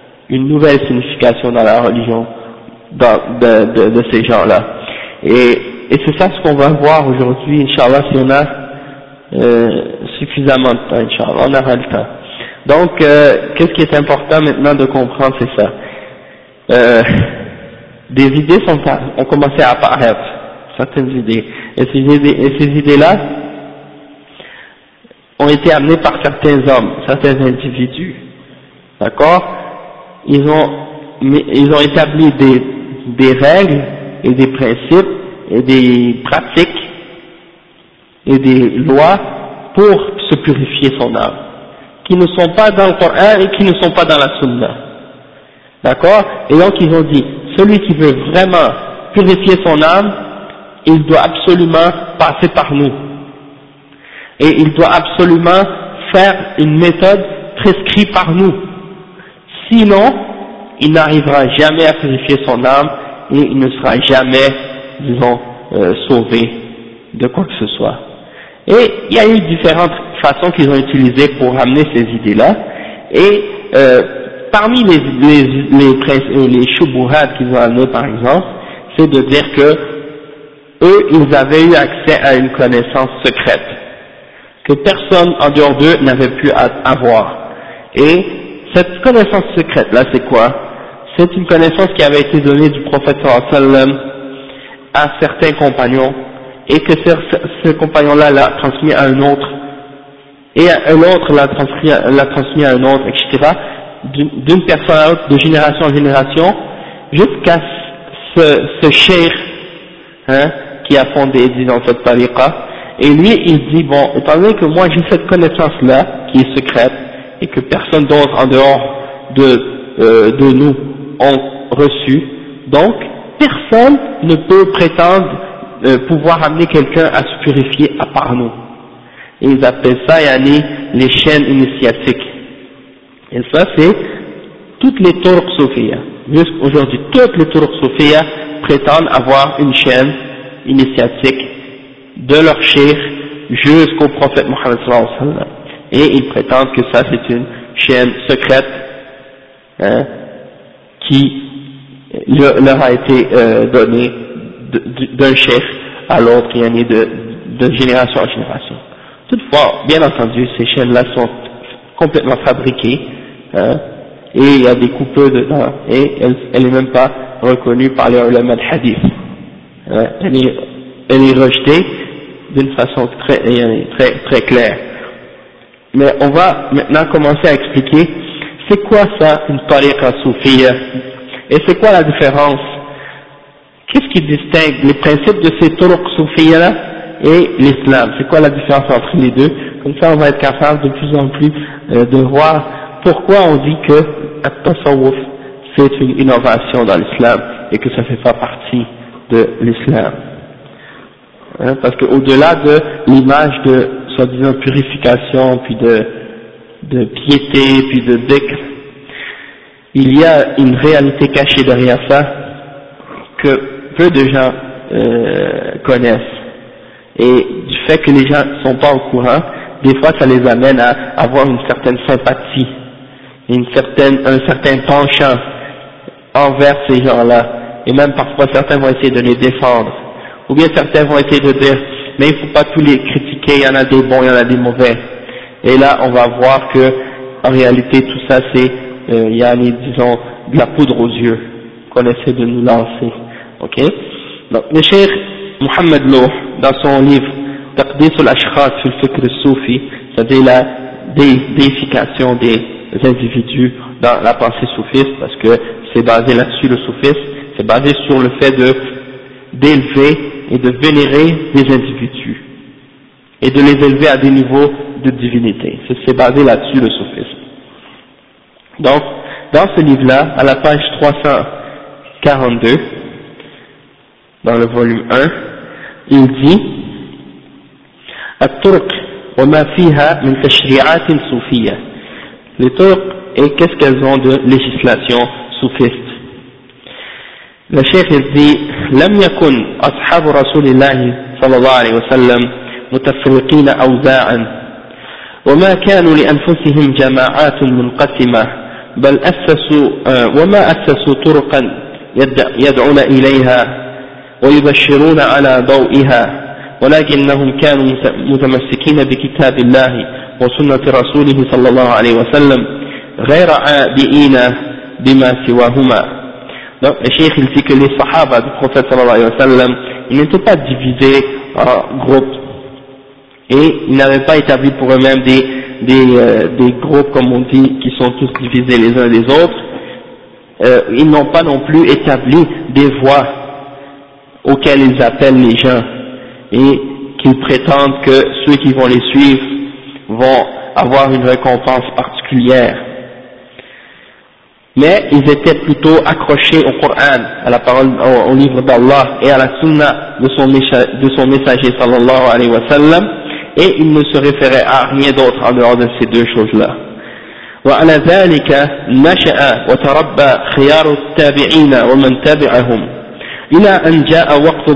dans la religion de ces gens-là. Et c'est ça ce qu'on va voir aujourd'hui, Inch'Allah, si on a suffisamment de temps, Inch'Allah, on aura le temps. Donc, qu'est-ce qui est important maintenant de comprendre, c'est ça. Des idées ont commencé à apparaître, certaines idées. Et ces idées-là ont été amenées par certains hommes, certains individus. D'accord? Ils ont établi des règles et des principes et des pratiques et des lois pour se purifier son âme, qui ne sont pas dans le Coran et qui ne sont pas dans la Sunna. D'accord? Et donc ils ont dit, celui qui veut vraiment purifier son âme, il doit absolument passer par nous. Et il doit absolument faire une méthode prescrite par nous. Sinon, il n'arrivera jamais à purifier son âme et il ne sera jamais, disons, sauvé de quoi que ce soit. Et il y a eu différentes façons qu'ils ont utilisées pour amener ces idées-là. Et parmi les shubuhat qu'ils ont amenés, par exemple, c'est de dire que eux, ils avaient eu accès à une connaissance secrète que personne en dehors d'eux n'avait pu avoir. Et cette connaissance secrète-là, c'est quoi? C'est une connaissance qui avait été donnée du prophète sallallahu alayhi wa sallam à certains compagnons, et que ce compagnon-là l'a transmis à un autre, et un autre l'a transmis à un autre, etc., d'une personne à l'autre, de génération en génération, jusqu'à ce cheikh, hein, qui a fondé, disons, cette tariqa. Et lui, il dit, bon, étant donné que moi j'ai cette connaissance-là, qui est secrète, et que personne d'autre en dehors de nous reçus, donc personne ne peut prétendre pouvoir amener quelqu'un à se purifier à part nous. Et ils appellent ça yani, les chaînes initiatiques. Et ça c'est toutes les turuq soufiyya. Jusqu'aujourd'hui, toutes les turuq soufiyya prétendent avoir une chaîne initiatique de leur cheikh jusqu'au prophète Mohammed sallallahu alayhi wa sallam. Et ils prétendent que ça c'est une chaîne secrète qui leur a été donnée d'un cheikh à l'autre, de génération en génération. Toutefois, bien entendu, ces chaînes-là sont complètement fabriquées, et il y a des coupeurs dedans, et elle n'est même pas reconnue par les ulama de hadith. Elle est rejetée d'une façon très claire. Mais on va maintenant commencer à expliquer c'est quoi ça une tariqa soufiyya, et c'est quoi la différence, qu'est-ce qui distingue les principes de ces turuq soufiyya là et l'islam, c'est quoi la différence entre les deux. Comme ça on va être capable de plus en plus de voir pourquoi on dit que at-tasawwuf c'est une innovation dans l'islam et que ça fait pas partie de l'islam, parce que au-delà de l'image de soi-disant purification puis de piété puis de dhikr, il y a une réalité cachée derrière ça que peu de gens connaissent, et du fait que les gens ne sont pas au courant, des fois ça les amène à avoir une certaine sympathie, un certain penchant envers ces gens-là, et même parfois certains vont essayer de les défendre, ou bien certains vont essayer de dire mais il ne faut pas tous les critiquer, il y en a des bons, il y en a des mauvais, et là on va voir que en réalité tout ça c'est disons de la poudre aux yeux qu'on essaie de nous lancer. Ok, donc le cheikh Mohammed Louh, dans son livre Taqdis al-Ashkhas fi al-Fikr al-Soufi, c'est-à-dire la déification des individus dans la pensée soufiste, parce que c'est basé là-dessus le soufisme, c'est basé sur le fait d'élever et de vénérer des individus et de les élever à des niveaux de divinité. C'est basé là-dessus le soufisme. Donc, dans ce livre-là, à la page 342, dans le volume 1, il dit الطرق وما فيها من تشريعات صوفية. Les turuq, et qu'est-ce qu'elles ont de législation soufiste. Le cheikh dit لم يكن أصحاب رسول الله صلى الله عليه وسلم متفرقين أوزاعا وما كانوا لأنفسهم جماعات منقسمة بل وما أسسوا طرقا يدعون إليها ويبشرون على ضوئها ولكنهم كانوا متمسكين بكتاب الله وسنة رسوله صلى الله عليه وسلم غير عابئين بما سواهما. Donc le cheikh il dit que les sahaba du prophète sallallahu alayhi wa sallam, ils n'étaient pas divisés en groupes, et ils n'avaient pas établi pour eux-mêmes des groupes comme on dit qui sont tous divisés les uns des autres. Ils n'ont pas non plus établi des voies auxquelles ils appellent les gens et qu'ils prétendent que ceux qui vont les suivre vont avoir une récompense particulière. Mais ils étaient plutôt accrochés au Coran, à la parole, au livre d'Allah et à la sunna de son messager sallallahu alayhi wa sallam, et ils ne se référaient à rien d'autre en dehors de ces deux choses-là. وعلى ذلك نشأ وتربى خيار التابعين ومن تبعهم إلى أن جاء وقت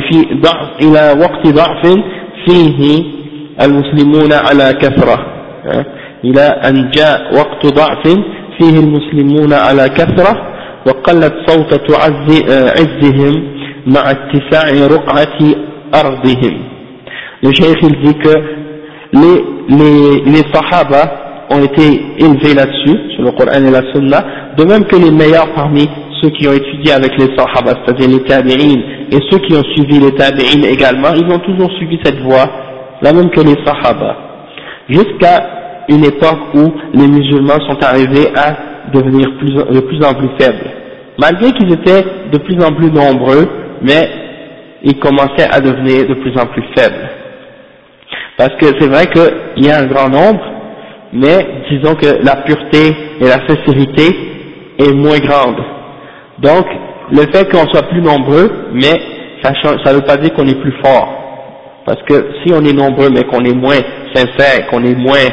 ضعف فيه المسلمون على كثرة إلى أن جاء وقت ضعف فيه المسلمون على كثرة وقلت صوتة عزهم مع اتساع رقعة أرضهم. Le cheikh il dit que les sahaba ont été élevés là-dessus, sur le Coran et la Sunna, de même que les meilleurs parmi ceux qui ont étudié avec les sahaba, c'est-à-dire les tabi'in, et ceux qui ont suivi les tabi'in également, ils ont toujours suivi cette voie, la même que les sahaba, jusqu'à une époque où les musulmans sont arrivés à devenir de plus en plus faibles. Malgré qu'ils étaient de plus en plus nombreux, mais ils commençaient à devenir de plus en plus faibles. Parce que c'est vrai qu'il y a un grand nombre, mais disons que la pureté et la sincérité est moins grande. Donc, le fait qu'on soit plus nombreux, mais ça ne veut pas dire qu'on est plus fort. Parce que si on est nombreux, mais qu'on est moins sincère, qu'on est moins,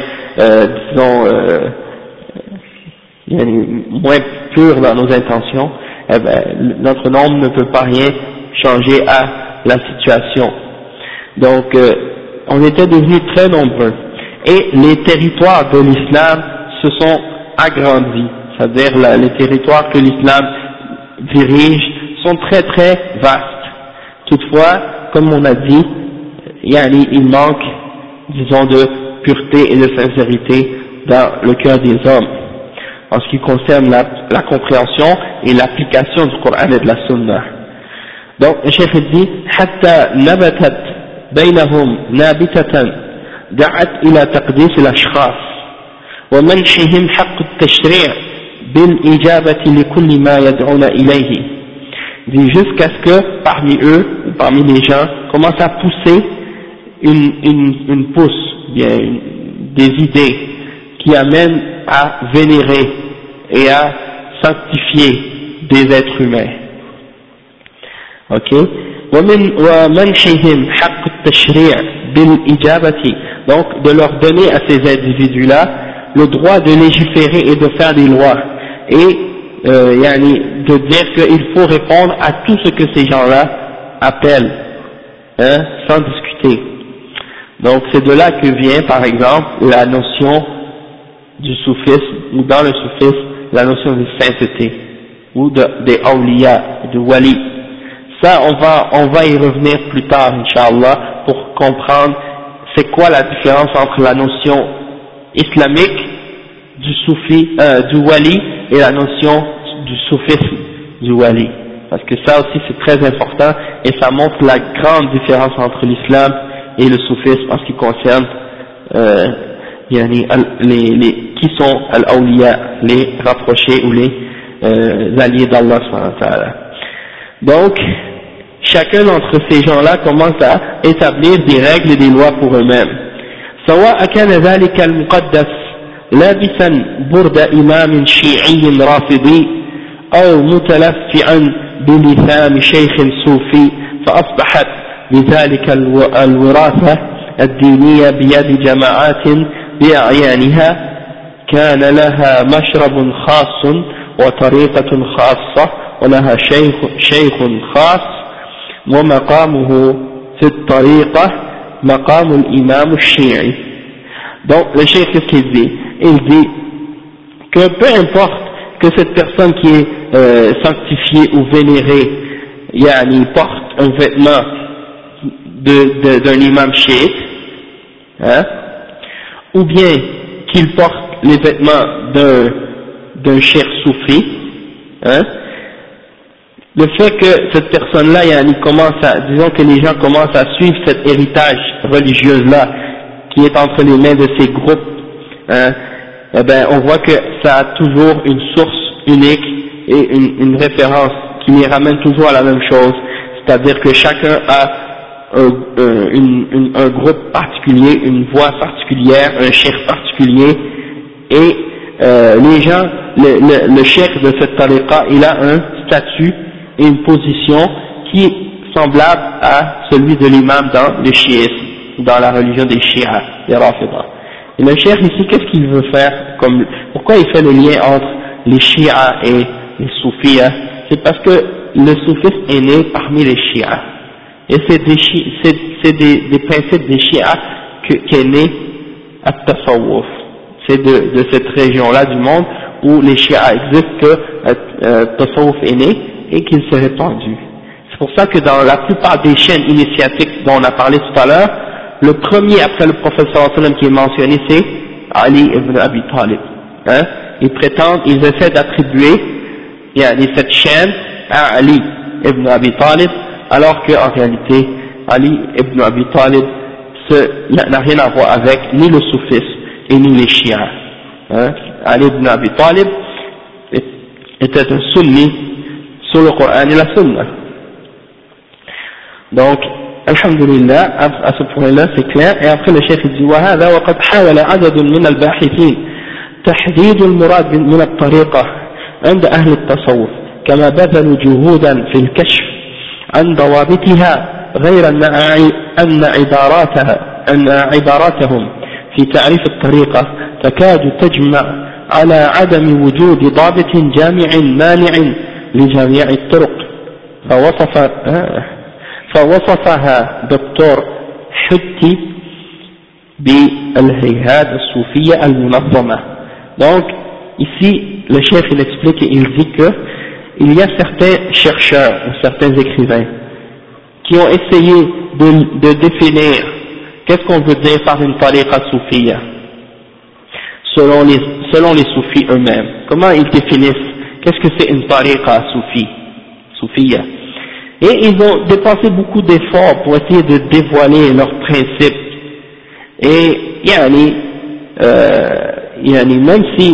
moins pur dans nos intentions, eh ben, notre nombre ne peut pas rien changer à la situation. Donc, on était devenus très nombreux. Et les territoires de l'islam se sont agrandis. C'est-à-dire les territoires que l'islam dirige sont très très vastes. Toutefois, comme on a dit, il manque, disons, de pureté et de sincérité dans le cœur des hommes en ce qui concerne la compréhension et l'application du Coran et de la Sunna. Donc le cheikh dit حتى نبتت بينهم نابتة دعت إلى تقديس الأشخاص ومنحهم حق التشريع بالإجابة لكل ما يدعون إليه. Dit jusqu'à ce que parmi eux ou parmi les gens commence à pousser une pousse, bien des idées qui amènent à vénérer et à sanctifier des êtres humains. Ok. ومنحهم حق التشريع بالإجابة, donc de leur donner à ces individus-là le droit de légiférer et de faire des lois et de dire qu'il faut répondre à tout ce que ces gens-là appellent, sans discuter. Donc c'est de là que vient par exemple la notion du soufisme, ou dans le soufisme, la notion de sainteté, ou des awliya, de wali. Ça, on va y revenir plus tard, Inch'Allah, pour comprendre c'est quoi la différence entre la notion islamique du soufi, du wali, et la notion du soufisme du wali. Parce que ça aussi c'est très important, et ça montre la grande différence entre l'islam et le soufisme en ce qui concerne qui sont al-awliya, les rapprochés ou les alliés d'Allah subhanahu wa ta'ala. Donc, chacun d'entre ces gens-là commence à établir des règles et des lois pour eux-mêmes. سواء كان ذلك المقدس لابسا برد إمام شيعي رافضي أو متلفعا بلثام شيخ صوفي فأصبحت بذلك الوراثة الدينية بيد جماعات بأعيانها كان لها مشرب خاص وطريقة خاصة ولها شيخ خاص ومقامه في الطريقة مقام الإمام الشيعي. Donc le cheikh qu'est-ce qu'il dit? Il dit que peu importe que cette personne qui est sanctifiée ou vénérée porte un vêtement d'un imam chiite, ou bien qu'il porte les vêtements d'un cheikh soufi, le fait que cette personne-là, disons que les gens commencent à suivre cet héritage religieux-là, qui est entre les mains de ces groupes, eh ben, on voit que ça a toujours une source unique et une référence qui les ramène toujours à la même chose, c'est-à-dire que chacun a un groupe particulier, une voix particulière, un cheikh particulier, et les gens, le cheikh de cette tariqa, il a un statut et une position qui est semblable à celui de l'imam dans le chiisme, dans la religion des chiites, des rafidah. Et le cheikh ici, qu'est-ce qu'il veut faire pourquoi il fait le lien entre les chiites et les soufis? C'est parce que le soufisme est né parmi les chiites. Et c'est des principes des chiites qu'est né at-tasawwuf. C'est de cette région-là du monde où les chiites existent que tasawwuf est né et qu'il s'est répandu. C'est pour ça que dans la plupart des chaînes initiatiques dont on a parlé tout à l'heure, le premier après le prophète sallallahu alayhi wa sallam qui est mentionné c'est Ali ibn Abi Talib. Ils essaient d'attribuer cette chaîne à Ali ibn Abi Talib, alors qu'en réalité Ali ibn Abi Talib n'a rien à voir avec ni le soufisme et ni les chiites. Ali ibn Abi Talib était un sunni sur le Coran et la Sunna. Donc, alhamdulillah, à ce point-là, c'est clair. Et après, le chef dit وهذا وقد حاول عدد من الباحثين تحديد المراد من الطريقة عند أهل التصوف كما بذلوا جهودا في الكشف عن ضوابطها غير أن عباراتهم في تعريف الطريقة تكاد تجمع على عدم وجود ضابط جامع مانع لجميع الطرق فوصفها دكتور حتي بالهيئات الصوفية المنظمة. Donc ici le chef il explique et il dit que il y a certains chercheurs ou certains écrivains qui ont essayé de définir qu'est-ce qu'on veut dire par une tariqa soufia selon les soufis eux-mêmes. Comment ils définissent qu'est-ce que c'est une tariqa soufia. Et ils ont dépensé beaucoup d'efforts pour essayer de dévoiler leurs principes. Et même si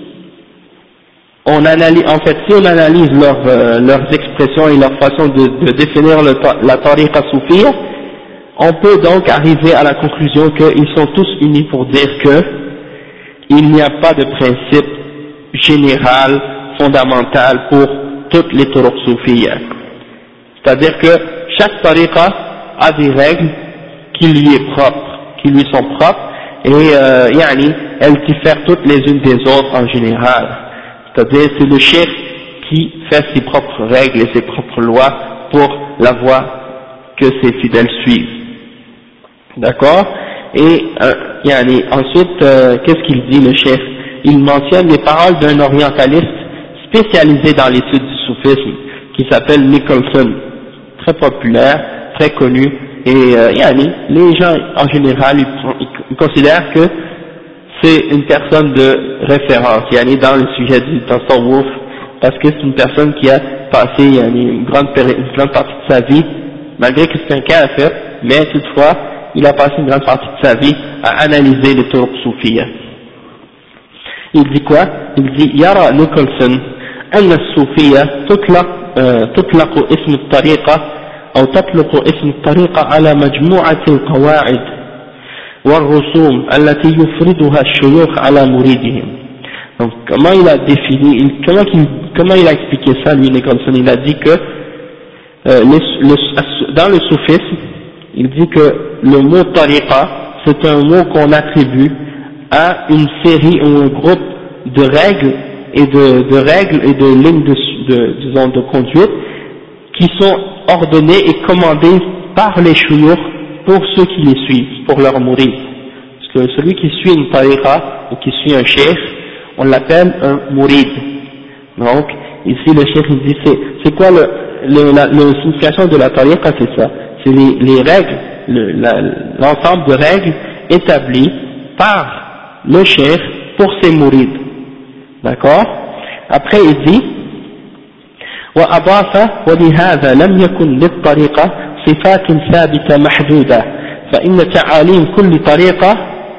on analyse, en fait, si on analyse leurs expressions et leur façon de définir la tariqa soufia, on peut donc arriver à la conclusion qu'ils sont tous unis pour dire que il n'y a pas de principe général, fondamental pour toutes les turuq soufiyya. C'est-à-dire que chaque tariqa a des règles qui lui sont propres, et elles diffèrent toutes les unes des autres en général. C'est-à-dire c'est le cheikh qui fait ses propres règles et ses propres lois pour la voie que ses fidèles suivent. D'accord? Et ensuite, qu'est-ce qu'il dit le cheikh? Il mentionne les paroles d'un orientaliste spécialisé dans l'étude du soufisme qui s'appelle Nicholson, très populaire, très connu, et les gens en général ils considèrent que c'est une personne de référence dans le sujet du tasawwuf, parce que c'est une personne qui a passé une grande partie de sa vie, malgré que c'est un kafir, mais toutefois il a passé une grande partie de sa vie à analyser les turuq soufiyya. Il dit quoi? Il dit Yara Nicholson أن الصوفية تطلق اسم الطريقة أو تطلق اسم الطريقة على مجموعة القواعد والرسوم التي يفرضها الشيوخ على مريدهم. Donc comment il a défini, comment il a expliqué ça lui Nicholson? Il a dit que dans le soufisme, il dit que le mot tariqa c'est un mot qu'on attribue à une série ou un groupe de règles et de lignes de conduite qui sont ordonnées et commandées par les shuyukh pour ceux qui les suivent, pour leur mourir. Parce que celui qui suit une tariqa ou qui suit un cheikh, on l'appelle un mourid. Donc ici le cheikh il dit c'est quoi la signification de la tariqa? C'est ça, c'est les règles, l'ensemble de règles établies par le cheikh pour ses mourides. D'accord? Après il dit وأضاف ولهذا لم يكن للطريقة صفات ثابتة محدودة فإن تعاليم كل طريقة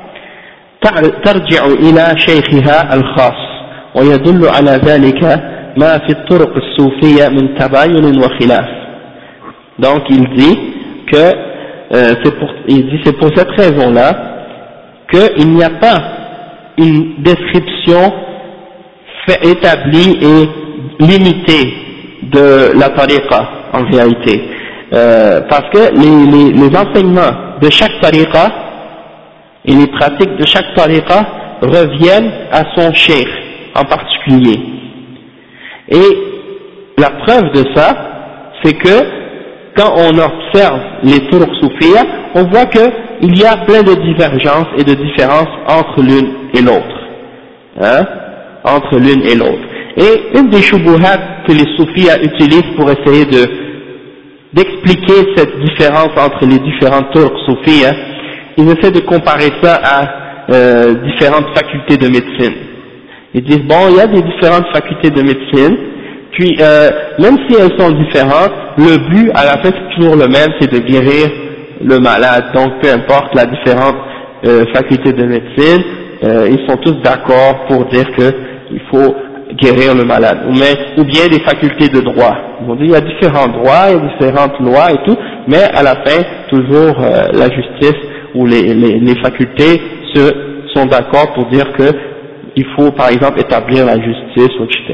ترجع إلى شيخها الخاص ويدل على ذلك ما في الطرق الصوفية من تباين وخلاف. Donc il dit que c'est pour cette raison-là qu'il n'y a pas une description établie et limitée de la tariqa en réalité, parce que les enseignements de chaque tariqa et les pratiques de chaque tariqa reviennent à son cheikh en particulier. Et la preuve de ça, c'est que quand on observe les turuq soufiyya, on voit qu'il y a plein de divergences et de différences entre l'une et l'autre, entre l'une et l'autre. Et une des shubuhat que les soufis utilisent pour essayer d'expliquer cette différence entre les différentes turuq soufis, ils essaient de comparer ça à différentes facultés de médecine. Ils disent bon, il y a des différentes facultés de médecine, puis même si elles sont différentes, le but à la fin c'est toujours le même, c'est de guérir le malade. Donc peu importe la différente faculté de médecine, ils sont tous d'accord pour dire qu'il faut guérir le malade, ou bien des facultés de droit. Ils vont dire il y a différents droits, il y a différentes lois et tout, mais à la fin, toujours la justice ou les facultés sont d'accord pour dire que il faut par exemple établir la justice, etc.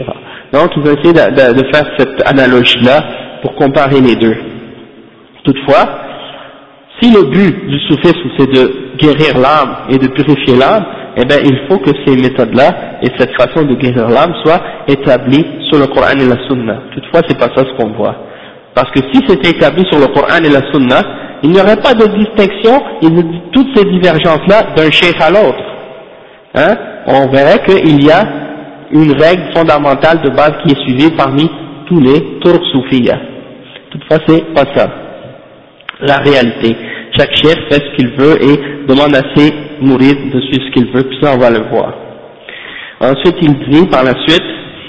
Donc ils ont essayé de faire cette analogie-là pour comparer les deux. Toutefois, si le but du soufisme c'est de guérir l'âme et de purifier l'âme, eh bien il faut que ces méthodes-là et cette façon de guérir l'âme soient établies sur le Coran et la Sunna. Toutefois, c'est pas ça ce qu'on voit. Parce que si c'était établi sur le Coran et la Sunna, il n'y aurait pas de distinction et de toutes ces divergences-là d'un cheikh à l'autre. Hein? On verrait qu'il y a une règle fondamentale de base qui est suivie parmi tous les turcs soufiyas. Toutefois, c'est pas ça. La réalité. Chaque cheikh fait ce qu'il veut et demande à ses mourides de suivre ce qu'il veut, puis ça on va le voir. Ensuite il dit par la suite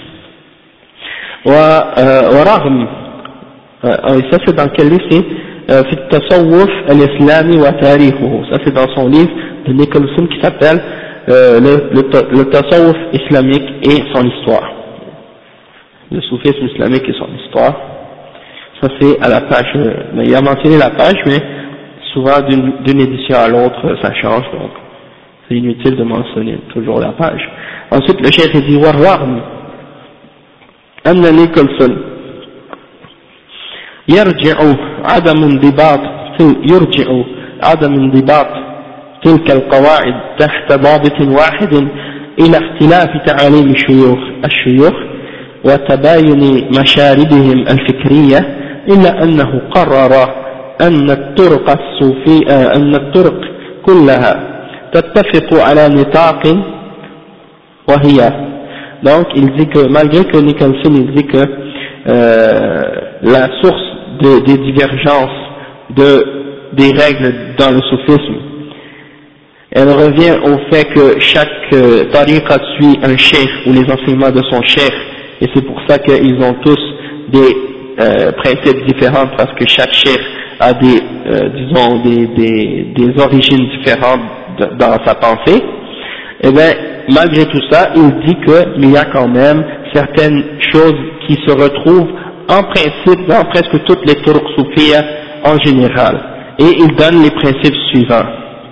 ورغم ça c'est dans quel livre c'est في التصوف الإسلامي وتاريخه, ça c'est dans son livre de Nicholson qui s'appelle le tasawwuf islamique et son histoire, le soufisme islamique et son histoire. Ça c'est à la page, mais il a mentionné la page, mais souvent d'une édition à l'autre ça change, donc c'est inutile de mentionner toujours la page. Ensuite le cheikh dit والرغم أن نيكلسون يرجع عدم انضباط تلك القواعد تحت ضابط واحد إلى اختلاف تعاليم الشيوخ وتباين مشاربهم الفكرية، إلا أنه قرر أن الطرق كلها تتفق على نطاق وهي. Donc il dit que malgré que Nicholson il dit que la source des divergences des règles dans le soufisme, elle revient au fait que chaque tariqa suit un cheikh ou les enseignements de son cheikh, et c'est pour ça qu'ils ont tous des principes différents, parce que chaque cheikh a des origines différentes dans sa pensée. Et bien malgré tout ça, il dit qu'il y a quand même certaines choses qui se retrouvent en principe dans presque toutes les turuq soufiyas en général, et il donne les principes suivants.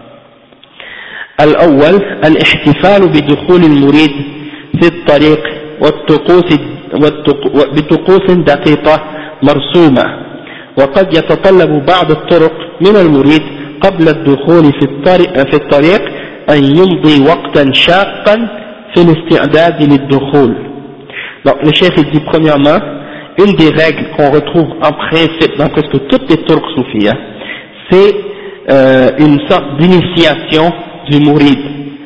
الأول الاحتفال بدخول المريد في الطريق بطقوس دقيقة مرسومة، وقد يتطلب بعض الطرق من المريد قبل الدخول في الطريق أن يمضي وقتا شاقا في الاستعداد للدخول. Donc le cheikh dit premièrement, une des règles qu'on retrouve en principe dans presque toutes les turcs soufiyas, c'est une sorte d'initiation du mouride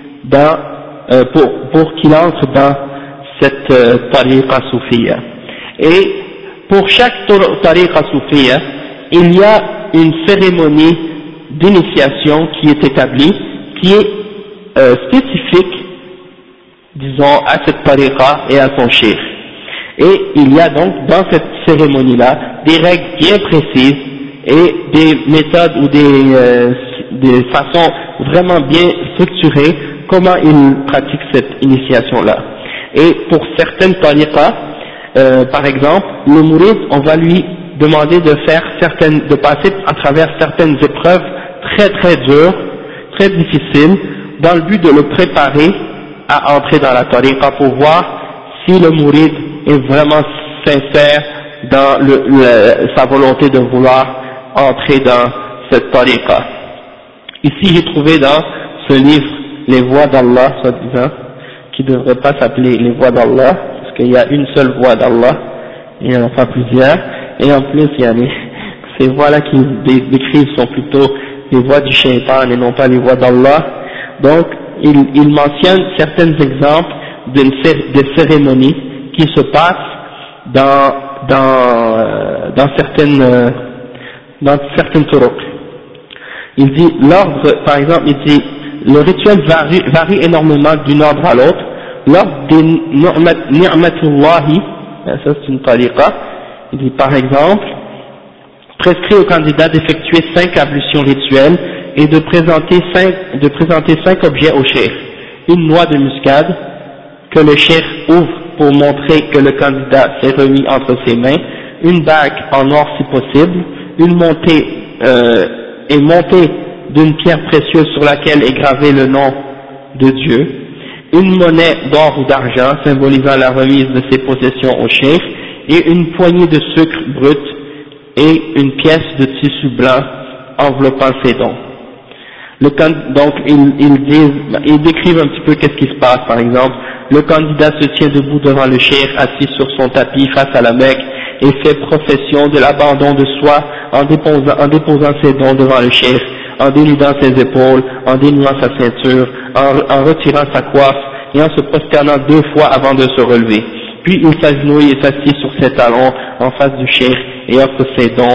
pour qu'il entre dans cette tariqa soufiya. Et pour chaque tariqa soufiya, il y a une cérémonie d'initiation qui est établie, qui est spécifique, disons, à cette tariqa et à son cheikh. Et il y a donc dans cette cérémonie-là des règles bien précises et des méthodes ou des façons vraiment bien structurées comment il pratique cette initiation-là. Et pour certaines tariqas, par exemple, le mouride, on va lui demander de passer à travers certaines épreuves très très dures, très difficiles, dans le but de le préparer à entrer dans la tariqa, pour voir si le mouride est vraiment sincère dans sa volonté de vouloir entrer dans cette tariqa. Ici j'ai trouvé dans ce livre les voies d'Allah, soi-disant, qui ne devrait pas s'appeler les voies d'Allah, parce qu'il y a une seule voie d'Allah, il n'y en a pas plusieurs, et en plus il y a ces voies-là qui décrivent sont plutôt les voies du shaitan et non pas les voies d'Allah. Donc il mentionne certains exemples de cérémonies qui se passent dans certaines turuq. Il dit l'ordre, par exemple, il dit le rituel varie énormément d'un ordre à l'autre. L'ordre des ni'matullahi, ça c'est une tariqa, il dit par exemple prescrit au candidat d'effectuer 5 ablutions rituelles et de présenter 5 objets au cheikh: une noix de muscade que le cheikh ouvre pour montrer que le candidat s'est remis entre ses mains, une bague en or si possible, une montée d'une pierre précieuse sur laquelle est gravé le nom de Dieu, une monnaie d'or ou d'argent symbolisant la remise de ses possessions au cheikh, et une poignée de sucre brut et une pièce de tissu blanc enveloppant ses dons. Donc ils décrivent un petit peu qu'est-ce qui se passe. Par exemple, le candidat se tient debout devant le cheikh assis sur son tapis face à la Mecque et fait profession de l'abandon de soi en déposant ses dons devant le cheikh, en dénudant ses épaules, en dénouant sa ceinture, en retirant sa coiffe et en se prosternant 2 fois avant de se relever. Puis il s'agenouille et s'assied sur ses talons en face du cheikh et offre ses dons,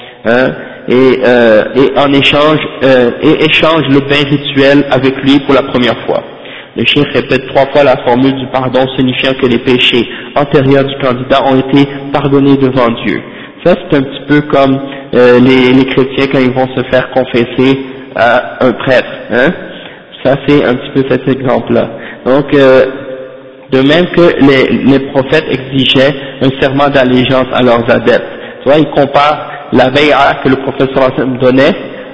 et en échange échange le bain rituel avec lui pour la première fois. Le cheikh répète 3 fois la formule du pardon, signifiant que les péchés antérieurs du candidat ont été pardonnés devant Dieu. Ça c'est un petit peu comme les chrétiens quand ils vont se faire confesser à un prêtre, hein. Ça c'est un petit peu cet exemple-là. Donc de même que les prophètes exigeaient un serment d'allégeance à leurs adeptes. Tu vois, ils comparent la bay'a que le prophète sallallahu alayhi wa sallam donnait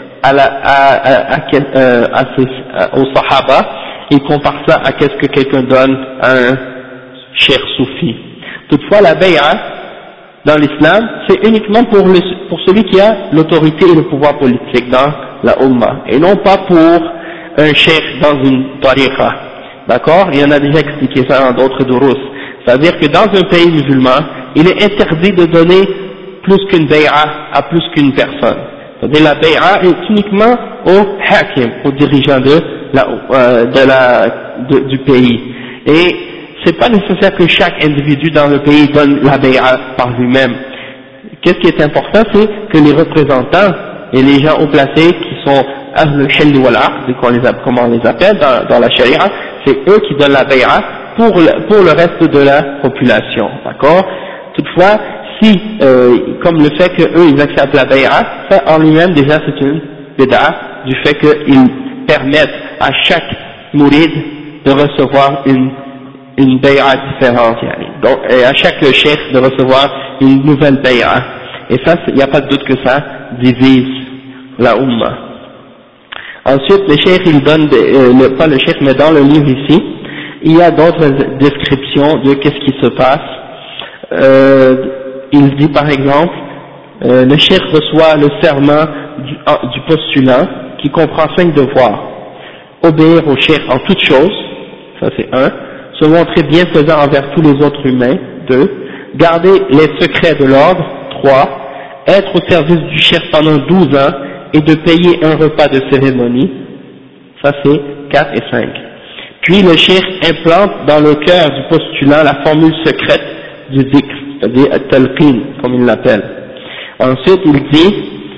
aux sahaba, ils comparent ça à qu'est-ce que quelqu'un donne à un cheikh soufi. Toutefois, la bay'a dans l'islam, c'est uniquement pour celui qui a l'autorité et le pouvoir politique dans la Ummah, et non pas pour un cheikh dans une tariqa. D'accord? Il y en a déjà expliqué ça dans d'autres durus. C'est-à-dire que dans un pays musulman, il est interdit de donner plus qu'une bay'a à plus qu'une personne. C'est-à-dire la bay'a est uniquement au hakim, au dirigeant du pays. Et c'est pas nécessaire que chaque individu dans le pays donne la bay'a par lui-même. Qu'est-ce qui est important, c'est que les représentants et les gens haut placés qui sont Ahlul Hill wal Aqd, comme on les appelle dans la charia, c'est eux qui donnent la bay'a pour le reste de la population, d'accord? Toutefois, si, comme le fait qu'eux ils acceptent la bay'a, ça en lui-même déjà c'est une bid'a, du fait qu'ils permettent à chaque mourid de recevoir une bay'a différente, donc, et à chaque cheikh de recevoir une nouvelle bay'a. Et ça, il n'y a pas de doute que ça divise la Ummah. Ensuite, le cheikh, il donne, pas le cheikh, mais dans le livre ici, il y a d'autres descriptions de qu'est-ce qui se passe. Il dit par exemple, le cheikh reçoit le serment du postulant qui comprend 5 devoirs. Obéir au cheikh en toutes choses, ça c'est 1. Se montrer bienfaisant envers tous les autres humains, 2. Garder les secrets de l'ordre, 3. Être au service du cheikh pendant 12 ans et de payer un repas de cérémonie, ça c'est 4 et 5. Puis le cheikh implante dans le cœur du postulant la formule secrète du dhikr, c'est-à-dire at-talqin, comme il l'appelle. Ensuite il dit,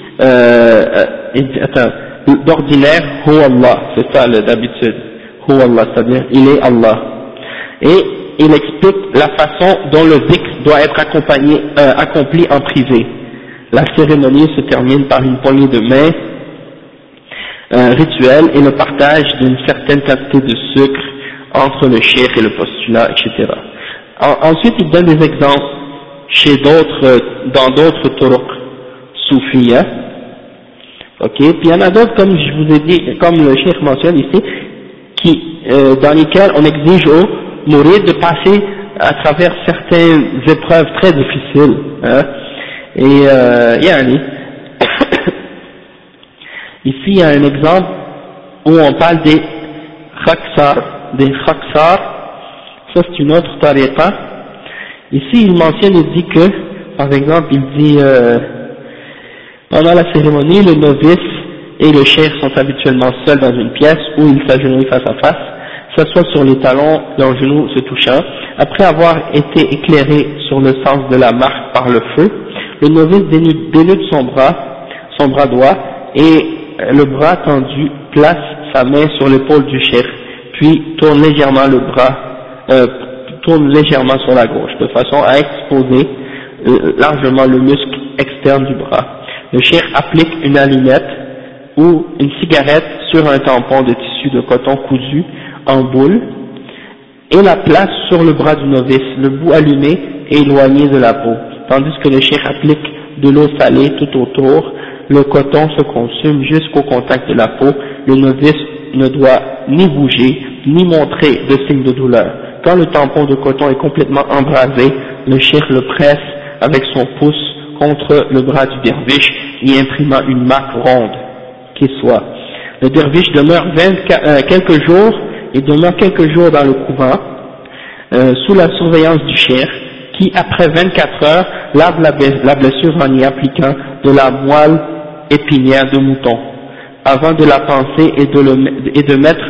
d'ordinaire, Hu Allah, c'est ça d'habitude, Hu Allah, c'est-à-dire il est Allah. Et il explique la façon dont le dhikr doit être accompli en privé. La cérémonie se termine par une poignée de main rituelle et le partage d'une certaine quantité de sucre entre le cheikh et le postulat, etc. Ensuite, il donne des exemples dans d'autres turuq soufiyya. Ok, puis il y en a d'autres, comme je vous ai dit, comme le cheikh mentionne ici, dans lesquels on exige aux mourides de passer à travers certaines épreuves très difficiles, hein. Et yani, ici il y a un exemple où on parle des khaksar, ça c'est une autre tariqa. Ici il mentionne, il dit que, par exemple, il dit pendant la cérémonie, le novice et le cheikh sont habituellement seuls dans une pièce où ils s'agenouillent face à face, s'assoient sur les talons, leurs genoux se touchant. Après avoir été éclairé sur le sens de la marque par le feu, le novice dénude son bras droit, et le bras tendu place sa main sur l'épaule du cheikh, puis tourne légèrement sur la gauche, de façon à exposer largement le muscle externe du bras. Le cheikh applique une allumette ou une cigarette sur un tampon de tissu de coton cousu en boule et la place sur le bras du novice, le bout allumé et éloigné de la peau, tandis que le cheikh applique de l'eau salée tout autour. Le coton se consume jusqu'au contact de la peau. Le novice ne doit ni bouger ni montrer de signes de douleur. Quand le tampon de coton est complètement embrasé, le cheikh le presse avec son pouce contre le bras du derviche, y imprimant une marque ronde qui soit. Le derviche demeure quelques jours dans le couvent, sous la surveillance du cheikh, qui après 24 heures lave la blessure en y appliquant de la moelle épinière de mouton, avant de la panser et de mettre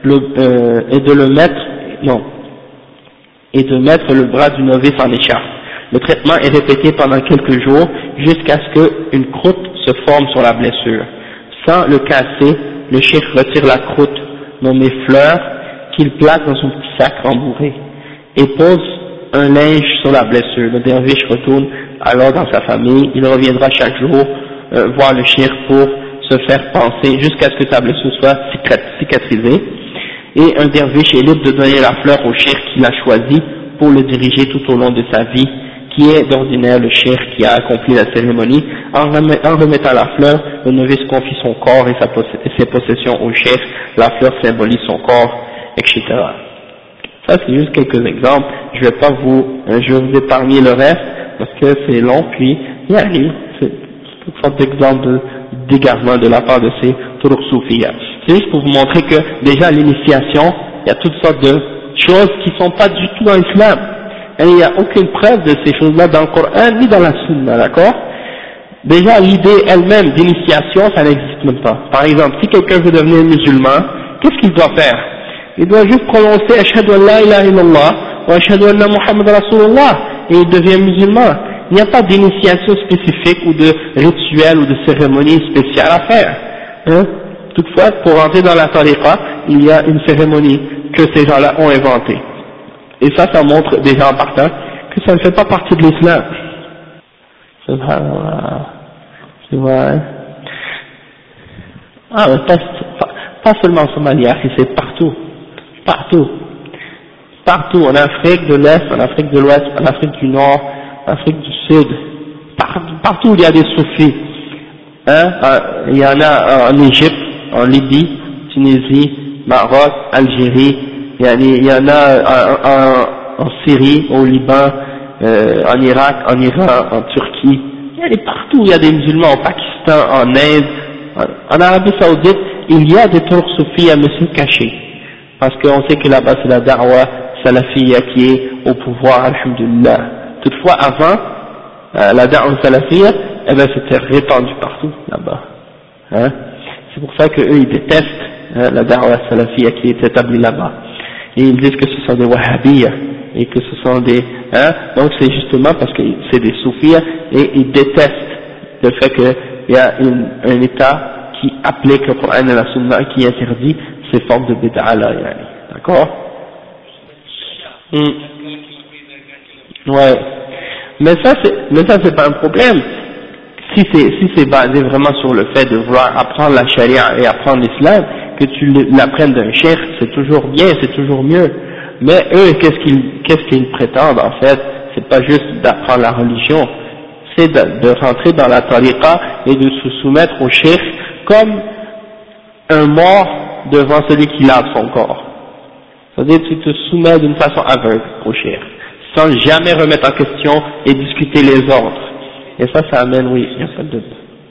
le bras du novice en écharpe. Le traitement est répété pendant quelques jours jusqu'à ce qu'une croûte se forme sur la blessure. Sans le casser, le cheikh retire la croûte nommée fleur qu'il place dans son petit sac rembourré et pose un linge sur la blessure. Le derviche retourne alors dans sa famille. Il reviendra chaque jour voir le cheikh pour se faire panser jusqu'à ce que sa blessure soit cicatrisée. Et un derviche est libre de donner la fleur au cheikh qu'il a choisi pour le diriger tout au long de sa vie, qui est d'ordinaire le cheikh qui a accompli la cérémonie. En remettant la fleur, le novice confie son corps et ses possessions au cheikh. La fleur symbolise son corps, etc. Ça c'est juste quelques exemples. Je vais vous épargner le reste parce que c'est long. Puis c'est toutes sortes d'exemples d'égarement de la part de ces turuq soufiyya. C'est juste pour vous montrer que déjà à l'initiation, il y a toutes sortes de choses qui sont pas du tout dans l'islam. Et il n'y a aucune preuve de ces choses-là dans le Coran ni dans la Sunna, d'accord? Déjà l'idée elle-même d'initiation, ça n'existe même pas. Par exemple, si quelqu'un veut devenir musulman, qu'est-ce qu'il doit faire? Il doit juste prononcer Ashhadu an la ilaha illallah wa Ashhadu anna Muhammad Rasulullah et il devient musulman. Il n'y a pas d'initiation spécifique ou de rituel ou de cérémonie spéciale à faire. Hein? Toutefois, pour entrer dans la tariqa, il y a une cérémonie que ces gens-là ont inventée. Et ça montre déjà en partant que ça ne fait pas partie de l'islam. Subhanallah. Tu vois, hein? Ah, pas seulement en Somalie, c'est partout. Partout, en Afrique de l'Est, en Afrique de l'Ouest, en Afrique du Nord, en Afrique du Sud, partout il y a des soufis. Hein? Il y en a en Égypte, en Libye, Tunisie, Maroc, Algérie, il y en a en Syrie, au Liban, en Irak, en Iran, en Turquie. Partout il y a des musulmans, au Pakistan, en Inde, en Arabie Saoudite, il y a des turuq soufis à monsieur cachés. Parce qu'on sait que là-bas c'est la da'wa salafiyya qui est au pouvoir, alhamdulillah. Toutefois avant, la da'wa salafiyya, c'était répandu partout là-bas. Hein? C'est pour ça qu'eux ils détestent la da'wa salafiyya qui est établie là-bas. Et ils disent que ce sont des wahhabiyya et que ce sont des... Hein? Donc c'est justement parce que c'est des soufis et ils détestent le fait qu'il y a un État qui applique le Coran et la Sunna qui interdit ces formes de bid'a là, d'accord? Ouais. Mais ça c'est pas un problème. Si c'est basé vraiment sur le fait de vouloir apprendre la charia et apprendre l'islam, que tu l'apprennes d'un cheikh, c'est toujours bien, c'est toujours mieux. Mais eux, qu'est-ce qu'ils prétendent en fait? C'est pas juste d'apprendre la religion, c'est de rentrer dans la tariqa et de se soumettre au cheikh comme un mort devant celui qui lave son corps. C'est-à-dire que tu te soumets d'une façon aveugle au cheikh, sans jamais remettre en question et discuter les ordres. Et ça amène, oui, il n'y a pas de doute.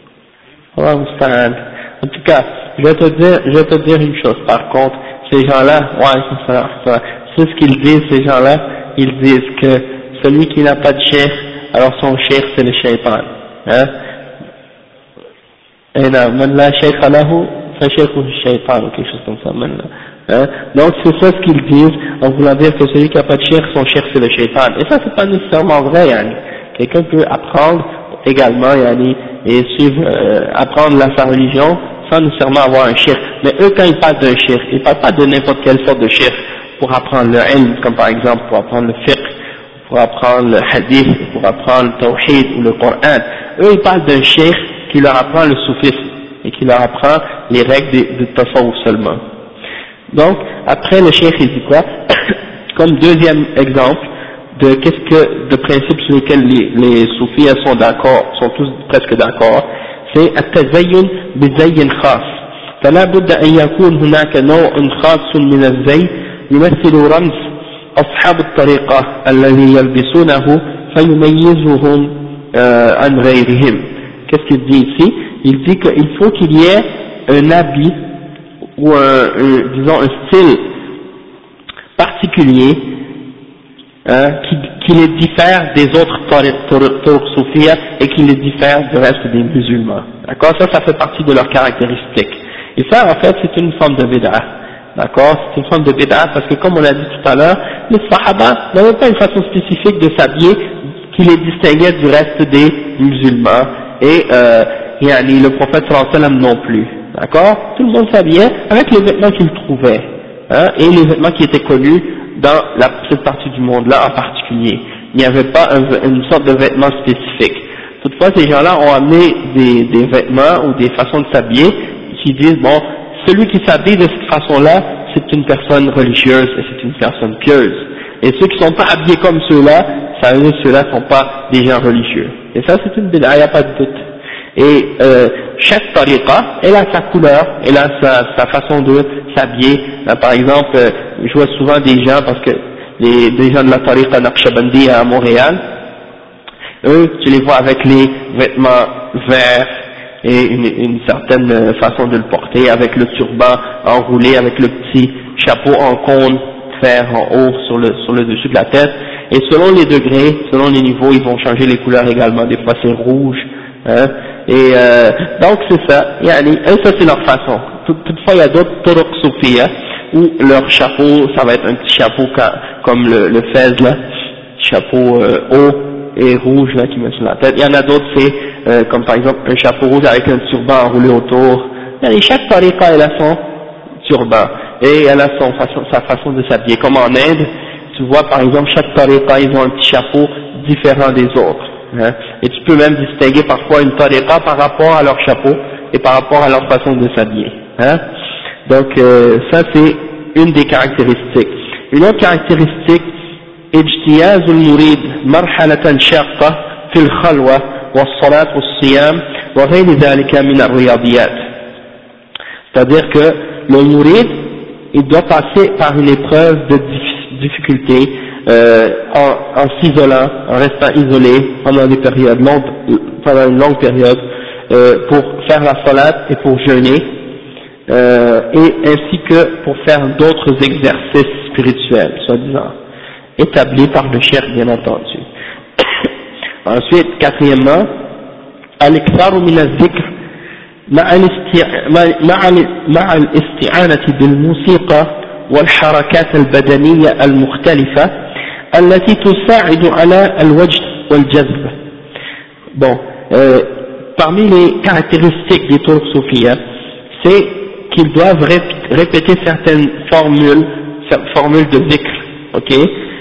En tout cas, je vais te dire une chose, par contre, ces gens-là, c'est ce qu'ils disent, ces gens-là, ils disent que celui qui n'a pas de cheikh, alors son cheikh c'est le shaytan. Hein? Et là, man la shaykha lahu, fa shaykhuhu shaytan, ou quelque chose comme ça, hein? Donc c'est ça ce qu'ils disent, en voulant dire que celui qui n'a pas de cheikh, son cheikh c'est le shaytan. Et ça c'est pas nécessairement vrai, yani. Quelqu'un peut apprendre également, yani, et suivre, apprendre sa religion sans nécessairement avoir un cheikh. Mais eux, quand ils parlent d'un cheikh, ils parlent pas de n'importe quelle sorte de cheikh pour apprendre le ilm, comme par exemple pour apprendre le fiqh, pour apprendre le hadith, pour apprendre le tawhid ou le Coran. Eux, ils parlent d'un cheikh qui leur apprend le soufisme et qui leur apprend les règles de tasawwuf seulement. Donc, après le cheikh, il dit quoi? Comme deuxième exemple de principes sur lesquels les soufis sont d'accord, sont tous presque d'accord, c'est at-tazayyun bi-zayyin khas, فلا بد أن يكون هناك نوع خاص من الزي يمثل رمز أصحاب الطريقة الذي يلبسونه فيميزهم عن غيرهم. Qu'est-ce qu'il dit ici? Il dit qu'il faut qu'il y ait un habit ou disons un style particulier qui les diffère des autres tariq soufia et qui les diffère du reste des musulmans. D'accord? Ça fait partie de leurs caractéristiques. Et ça, en fait, c'est une forme de bid'a. D'accord? C'est une forme de bid'a parce que, comme on l'a dit tout à l'heure, les sahaba n'avaient pas une façon spécifique de s'habiller qui les distinguait du reste des musulmans. Et le prophète sallallahu alayhi wa sallam non plus. D'accord? Tout le monde s'habillait avec les vêtements qu'il trouvait. Et les vêtements qui étaient connus dans cette partie du monde-là en particulier. Il n'y avait pas une sorte de vêtement spécifique. Toutefois, ces gens-là ont amené des vêtements ou des façons de s'habiller qui disent, bon, celui qui s'habille de cette façon-là, c'est une personne religieuse et c'est une personne pieuse. Et ceux qui ne sont pas habillés comme ceux-là, ça veut dire que ceux-là ne sont pas des gens religieux. Et ça, c'est une bid'a, il n'y a pas de doute. Et chaque tariqa, elle a sa couleur, elle a sa façon de s'habiller. Par exemple, je vois souvent des gens, parce que des gens de la tariqa Naqshbandi à Montréal, eux, tu les vois avec les vêtements verts et une certaine façon de le porter, avec le turban enroulé, avec le petit chapeau en cône fer en haut sur le dessus de la tête. Et selon les degrés, selon les niveaux, ils vont changer les couleurs également. Des fois c'est rouge, et donc c'est ça. Et ça c'est leur façon. Toutefois il y a d'autres turuq soufia où leur chapeau, ça va être un petit chapeau comme le fez là, chapeau haut et rouge là qui met sur la tête. Il y en a d'autres c'est comme par exemple un chapeau rouge avec un turban enroulé autour. Et chaque tariqa elle a son turban et elle a sa façon de s'habiller. Comme en Inde, tu vois par exemple chaque tariqa ils ont un petit chapeau différent des autres. Et tu peux même distinguer parfois une tariqa par rapport à leur chapeau et par rapport à leur façon de s'habiller. Donc ça c'est une des caractéristiques. Une autre caractéristique, اجتياز المريد مرحلة شاقة في الخلوة والصلاة والصيام وغير ذلك من الرياضيات. C'est-à-dire que le murid, il doit passer par une épreuve de difficulté en s'isolant, en restant isolé pendant des périodes longues, pendant une longue période, pour faire la salat et pour jeûner, et ainsi que pour faire d'autres exercices spirituels, soi-disant, établis par le cheikh bien entendu. Ensuite, quatrièmement, al-iktharu min al-dhikr مع الاستعانة بالموسيقى والحركات البدنية المختلفة التي تساعد على الوجد والجذب. Bon, parmi les caractéristiques des turuq soufia, c'est qu'ils doivent répéter certaines formules de dhikr, ok,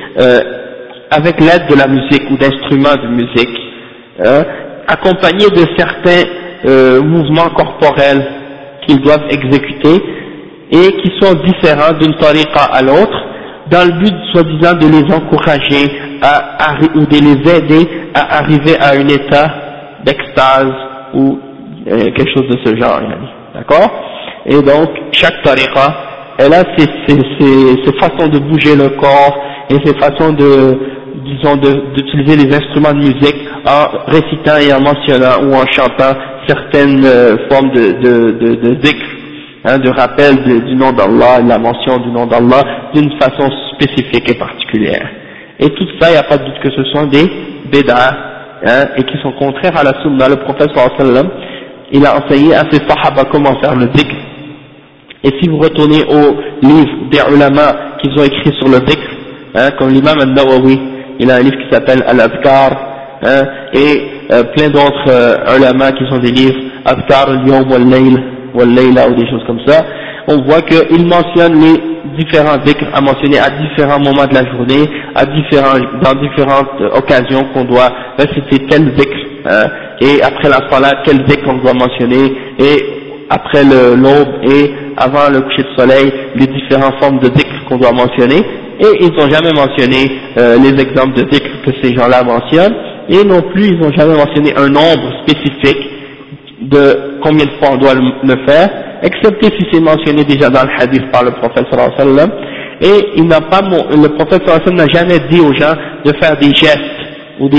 avec l'aide de la musique ou d'instruments de musique, accompagnés de certains mouvements corporels qu'ils doivent exécuter et qui sont différents d'une tariqa à l'autre, dans le but soi-disant de les encourager ou de les aider à arriver à un état d'extase ou quelque chose de ce genre, d'accord? Et donc chaque tariqa, elle a ses façons de bouger le corps et ses façons d'utiliser les instruments de musique en récitant et en mentionnant ou en chantant certaines formes de dhikr, de rappel du nom d'Allah, de la mention du nom d'Allah d'une façon spécifique et particulière. Et tout ça, il n'y a pas de doute que ce sont des bid'ah, et qui sont contraires à la sunna. Le prophète sallallahu alayhi wa sallam, il a enseigné à ses sahaba comment faire le dhikr. Et si vous retournez aux livres des ulama qu'ils ont écrits sur le dhikr, comme l'imam al-Nawawi, il a un livre qui s'appelle Al-Adhkar, et plein d'autres ulama qui sont des livres Adhkar al-Yawm wal-Layla ou des choses comme ça, on voit qu'ils mentionnent les différents dhikrs à mentionner à différents moments de la journée, dans différentes occasions qu'on doit réciter tel dhikr, et après la salat, quel dhikr on doit mentionner, et après l'aube et avant le coucher de soleil, les différentes formes de dhikr qu'on doit mentionner, et ils n'ont jamais mentionné les exemples de dhikr que ces gens-là mentionnent, et non plus ils n'ont jamais mentionné un nombre spécifique de combien de fois on doit le faire, excepté si c'est mentionné déjà dans le hadith par le prophète sallallahu alayhi wa sallam, et il n'a pas, le prophète sallallahu alayhi wa sallam n'a jamais dit aux gens de faire des gestes, ou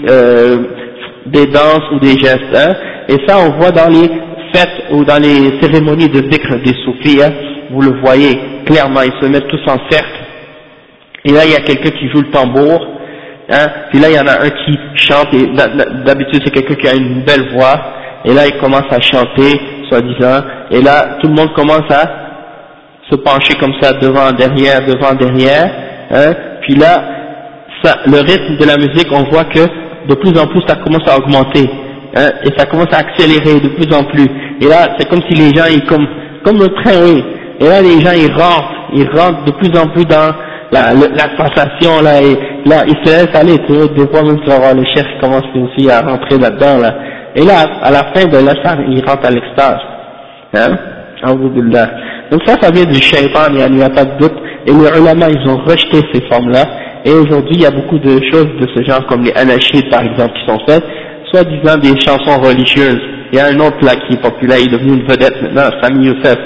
des danses ou des gestes, hein, et ça on voit dans les fêtes ou dans les cérémonies de dhikr des soufis, hein, vous le voyez clairement, ils se mettent tous en cercle, et là il y a quelqu'un qui joue le tambour, hein, puis là il y en a un qui chante, et d'habitude c'est quelqu'un qui a une belle voix, et là il commence à chanter, soi-disant, et là tout le monde commence à se pencher comme ça devant, derrière, hein, puis là, ça, le rythme de la musique, on voit que de plus en plus ça commence à augmenter, hein, et ça commence à accélérer de plus en plus, et là c'est comme si les gens, comme le train, oui, et là les gens ils rentrent de plus en plus dans la sensation là, et là ils se laissent aller, tu vois, des fois même tu vas voir le chef qui commence aussi à rentrer là-dedans là, et là à la fin de la salle ils rentrent à l'extase, hein, alhamdoulilah. Donc ça vient du shaitan, il n'y a pas de doute, et les ulama ils ont rejeté ces formes là, et aujourd'hui il y a beaucoup de choses de ce genre comme les anashids par exemple qui sont faites, soit disant des chansons religieuses. Il y a un autre là qui est populaire, il est devenu une vedette maintenant, Sami Youssef,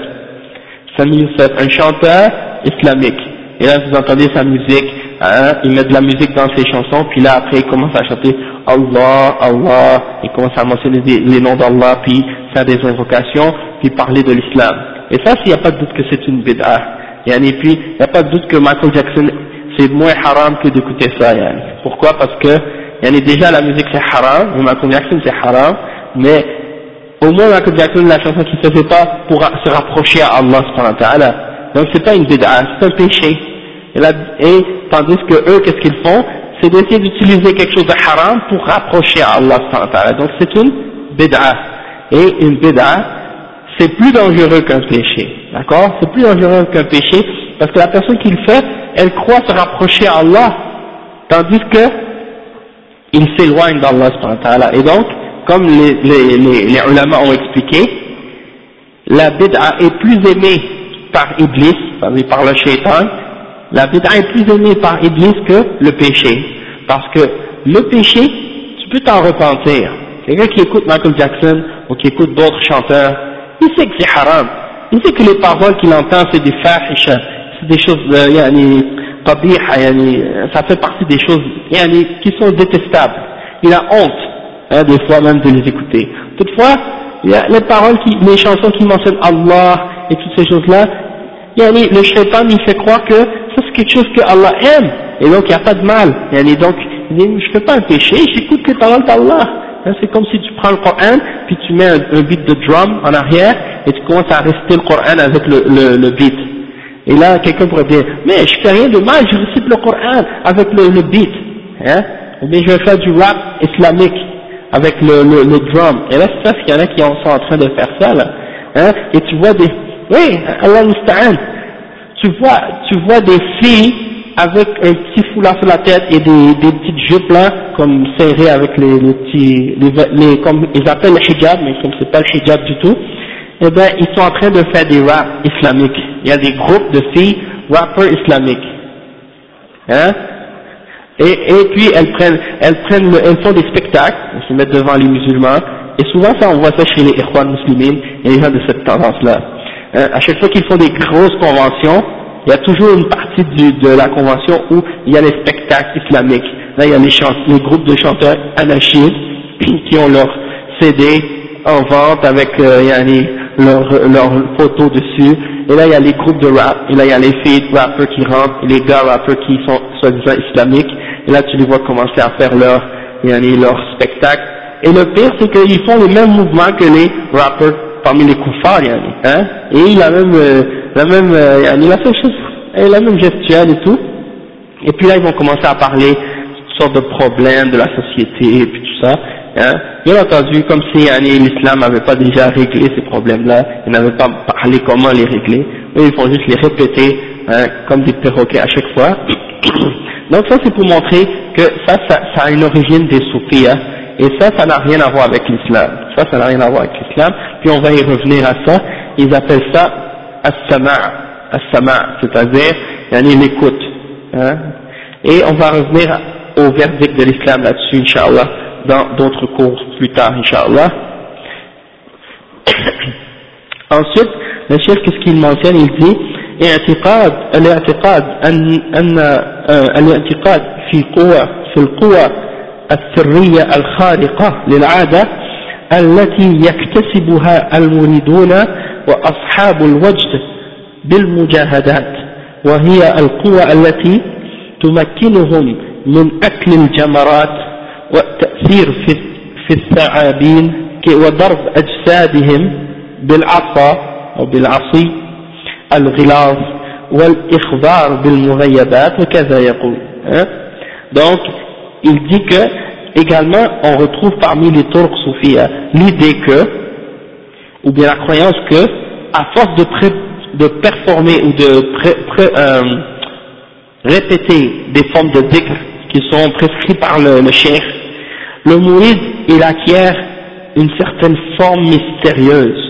un chanteur islamique, et là vous entendez sa musique, hein, il met de la musique dans ses chansons, puis là après il commence à chanter Allah, Allah, il commence à mentionner les noms d'Allah, puis faire des invocations, puis parler de l'islam. Et ça, s'il n'y a pas de doute que c'est une bid'ah, et puis il n'y a pas de doute que Michael Jackson c'est moins haram que d'écouter ça, yani. Pourquoi? Parce que déjà la musique c'est haram, et Michael Jackson c'est haram, mais au moins Michael Jackson, la chanson qu'il faisait pas pour se rapprocher à Allah subhanahu wa ta'ala, donc c'est pas une bid'ah, c'est un péché, et tandis que eux, qu'est-ce qu'ils font? C'est d'essayer d'utiliser quelque chose de haram pour rapprocher à Allah subhanahu wa ta'ala, donc c'est une bid'ah, et une bid'ah c'est plus dangereux qu'un péché, d'accord? C'est plus dangereux qu'un péché, parce que la personne qui le fait, elle croit se rapprocher à Allah, tandis que il s'éloigne d'Allah subhanahu wa ta'ala. Et donc, comme les ulama ont expliqué, la bid'a est plus aimée par Iblis, c'est-à-dire par le shaitan, la bid'a est plus aimée par Iblis que le péché, parce que le péché, tu peux t'en repentir. Quelqu'un qui écoute Michael Jackson, ou qui écoute d'autres chanteurs, il sait que c'est haram, il sait que les paroles qu'il entend c'est des fahisha, c'est des choses qabiha, ça fait partie des choses qui sont détestables, il a honte, hein, des fois même de les écouter. Toutefois, il y a les paroles, les chansons qui mentionnent Allah et toutes ces choses là, le shaitan il fait croire que ça c'est quelque chose que Allah aime, et donc il n'y a pas de mal, donc il dit je fais pas un péché, j'écoute les paroles d'Allah. C'est comme si tu prends le Coran, puis tu mets un beat de drum en arrière, et tu commences à réciter le Coran avec le beat. Et là, quelqu'un pourrait dire, mais je fais rien de mal, je récite le Coran avec le beat, hein, ou bien je vais faire du rap islamique avec le drum. Et là, c'est ça, qu'il y en a qui sont en train de faire ça, là, hein, et tu vois oui, Allah musta'an, tu vois des filles avec un petit foulard sur la tête et des petites jupes là, comme serrées avec comme ils appellent le hijab, mais comme c'est pas le hijab du tout, eh ben, ils sont en train de faire des raps islamiques. Il y a des groupes de filles rappeurs islamiques. Hein? Et puis elles font des spectacles, elles se mettent devant les musulmans, et souvent ça, on voit ça chez les ikhwan muslimines et les gens de cette tendance-là. Hein? À chaque fois qu'ils font des grosses conventions, il y a toujours une partie de la convention où il y a les spectacles islamiques. Là, il y a les groupes de chanteurs anashids qui ont leur CD en vente avec leurs photos dessus. Et là, il y a les groupes de rap. Et là, il y a les filles rappeurs qui rentrent, et les gars rappeurs qui sont soi-disant islamiques. Et là, tu les vois commencer à faire leur spectacle. Et le pire, c'est qu'ils font les mêmes mouvements que les rappeurs parmi les kuffars, hein. Et il a même la seule chose, la même gestuelle et tout. Et puis là, ils vont commencer à parler toutes sortes de problèmes de la société et puis tout ça. Hein. Bien entendu, comme si l'islam n'avait pas déjà réglé ces problèmes-là, ils n'avaient pas parlé comment les régler. Eux, ils font juste les répéter, hein, comme des perroquets à chaque fois. Donc ça, c'est pour montrer que ça a une origine des soufis, hein. Et ça n'a rien à voir avec l'islam. Ça n'a rien à voir avec l'islam. Puis on va y revenir à ça. Ils appellent ça as-sama', c'est-à-dire l'écoute. Hein. Et on va revenir au verdict de l'islam là-dessus, Inch'Allah, dans d'autres cours plus tard, Inch'Allah. Ensuite, le chef, qu'est-ce qu'il mentionne? Il dit الاعتقاد أن الاعتقاد في القوى السرية الخارقة للعادة التي يكتسبها المريدون وأصحاب الوجد بالمجاهدات، وهي القوى التي تمكنهم من أكل الجمرات والتأثير في الثعابين وضرب أجسادهم بالعصا أو بالعصي الغلاظ والإخبار بالمغيبات وكذا يقول. Donc il dit que également on retrouve parmi les turcs soufis l'idée que, ou bien la croyance que, à force de performer ou de répéter des formes de dhikr qui sont prescrites par le cheikh, le mouride il acquiert une certaine forme mystérieuse,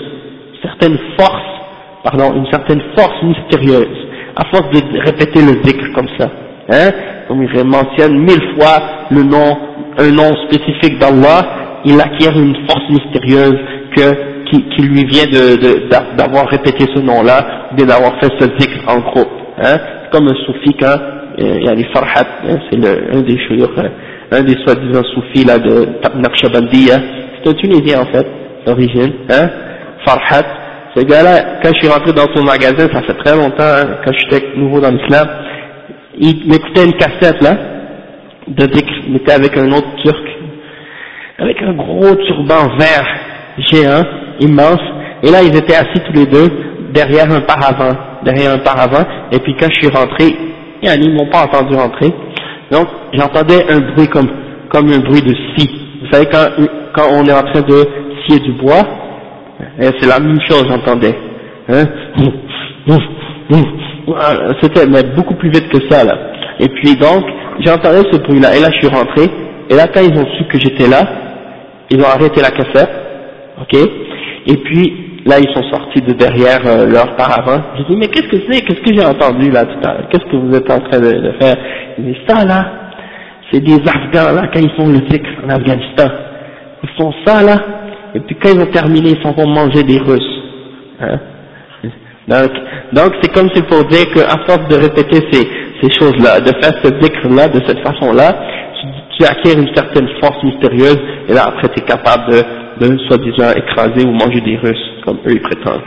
une certaine force mystérieuse, à force de répéter le dhikr comme ça, comme il mentionne 1000 fois un nom spécifique d'Allah, il acquiert une force mystérieuse qui lui vient d'avoir répété ce nom-là, ou bien d'avoir fait ce dhikr en groupe, c'est comme un soufi quand il y a les Farhat, c'est un des soi-disant soufis là de Naqshbandiya, c'est un Tunisien en fait, d'origine, Farhat. Ce gars-là, quand je suis rentré dans son magasin, ça fait très longtemps, quand j'étais nouveau dans l'islam, il m'écoutait une cassette là, de dhikr, il était avec un autre turc, avec un gros turban vert, géant, immense, et là ils étaient assis tous les deux, derrière un paravent, et puis quand je suis rentré, ils m'ont pas entendu rentrer, donc j'entendais un bruit comme un bruit de scie. Vous savez quand on est en train de scier du bois, c'est la même chose j'entendais, c'était mais beaucoup plus vite que ça là. Et puis donc j'entendais ce bruit là, et là je suis rentré, et là quand ils ont su que j'étais là, ils ont arrêté la cassette, ok, et puis là ils sont sortis de derrière leur paravent. J'ai dit mais qu'est-ce que c'est, qu'est-ce que j'ai entendu là tout à l'heure, qu'est-ce que vous êtes en train de faire? Ils disent ça là, c'est des Afghans là quand ils font le dhikr en Afghanistan, ils font ça là, et puis quand ils ont terminé ils s'en vont manger des Russes, donc c'est comme s'il faut dire qu'à force de répéter ces choses là, de faire ce dhikr là de cette façon là, tu acquiers une certaine force mystérieuse, et là après tu es capable de soi-disant écraser ou manger des Russes, comme eux ils prétendent.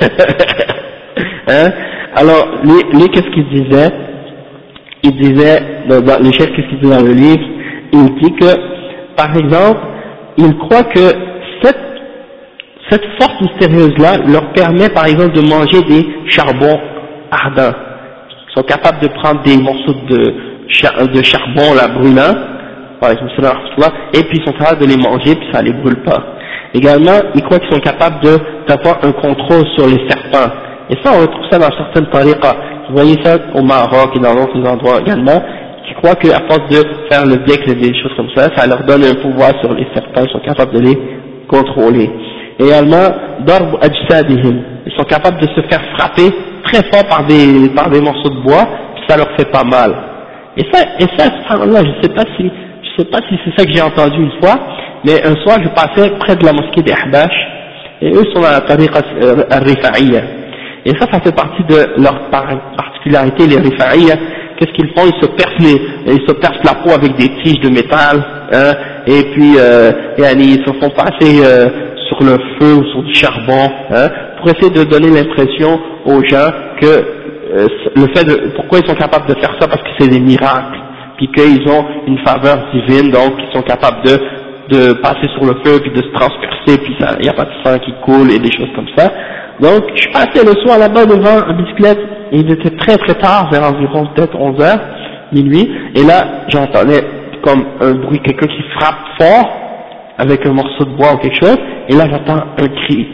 Alors, qu'est-ce qu'il disait? Il disait, les chefs, qu'est-ce qu'il dit dans le livre? Il dit que, par exemple, il croit que cette force mystérieuse-là leur permet, par exemple, de manger des charbons ardents. Ils sont capables de prendre des morceaux de charbon, là, brûlant, par exemple, et puis ils sont capables de les manger, puis ça les brûle pas. Également, ils croient qu'ils sont capables d'avoir un contrôle sur les serpents. Et ça, on retrouve ça dans certaines tariqas. Vous voyez ça au Maroc et dans d'autres endroits également, qui croient qu'à force de faire le dhikr et des choses comme ça, ça leur donne un pouvoir sur les serpents, ils sont capables de les contrôler. Également, darb ajsadihim, ils sont capables de se faire frapper très fort par des morceaux de bois, puis ça leur fait pas mal. Et ça, subhanallah, je sais pas si c'est ça que j'ai entendu une fois, mais un soir je passais près de la mosquée des Ahbash, et eux sont dans la tariqa al-Rifa'iyya. Et ça fait partie de leur particularité, les Rifa'iyya. Qu'est-ce qu'ils font? Ils se percent la peau avec des tiges de métal, et puis ils se font passer sur le feu ou sur du charbon, pour essayer de donner l'impression aux gens que pourquoi ils sont capables de faire ça, parce que c'est des miracles, puis qu'ils ont une faveur divine, donc ils sont capables de passer sur le feu, puis de se transpercer, puis il n'y a pas de sang qui coule et des choses comme ça. Donc je suis passé le soir là-bas devant en bicyclette, et il était très très tard, vers environ peut-être 11h, minuit, et là j'entendais comme un bruit, quelqu'un qui frappe fort avec un morceau de bois ou quelque chose, et là j'entends un cri,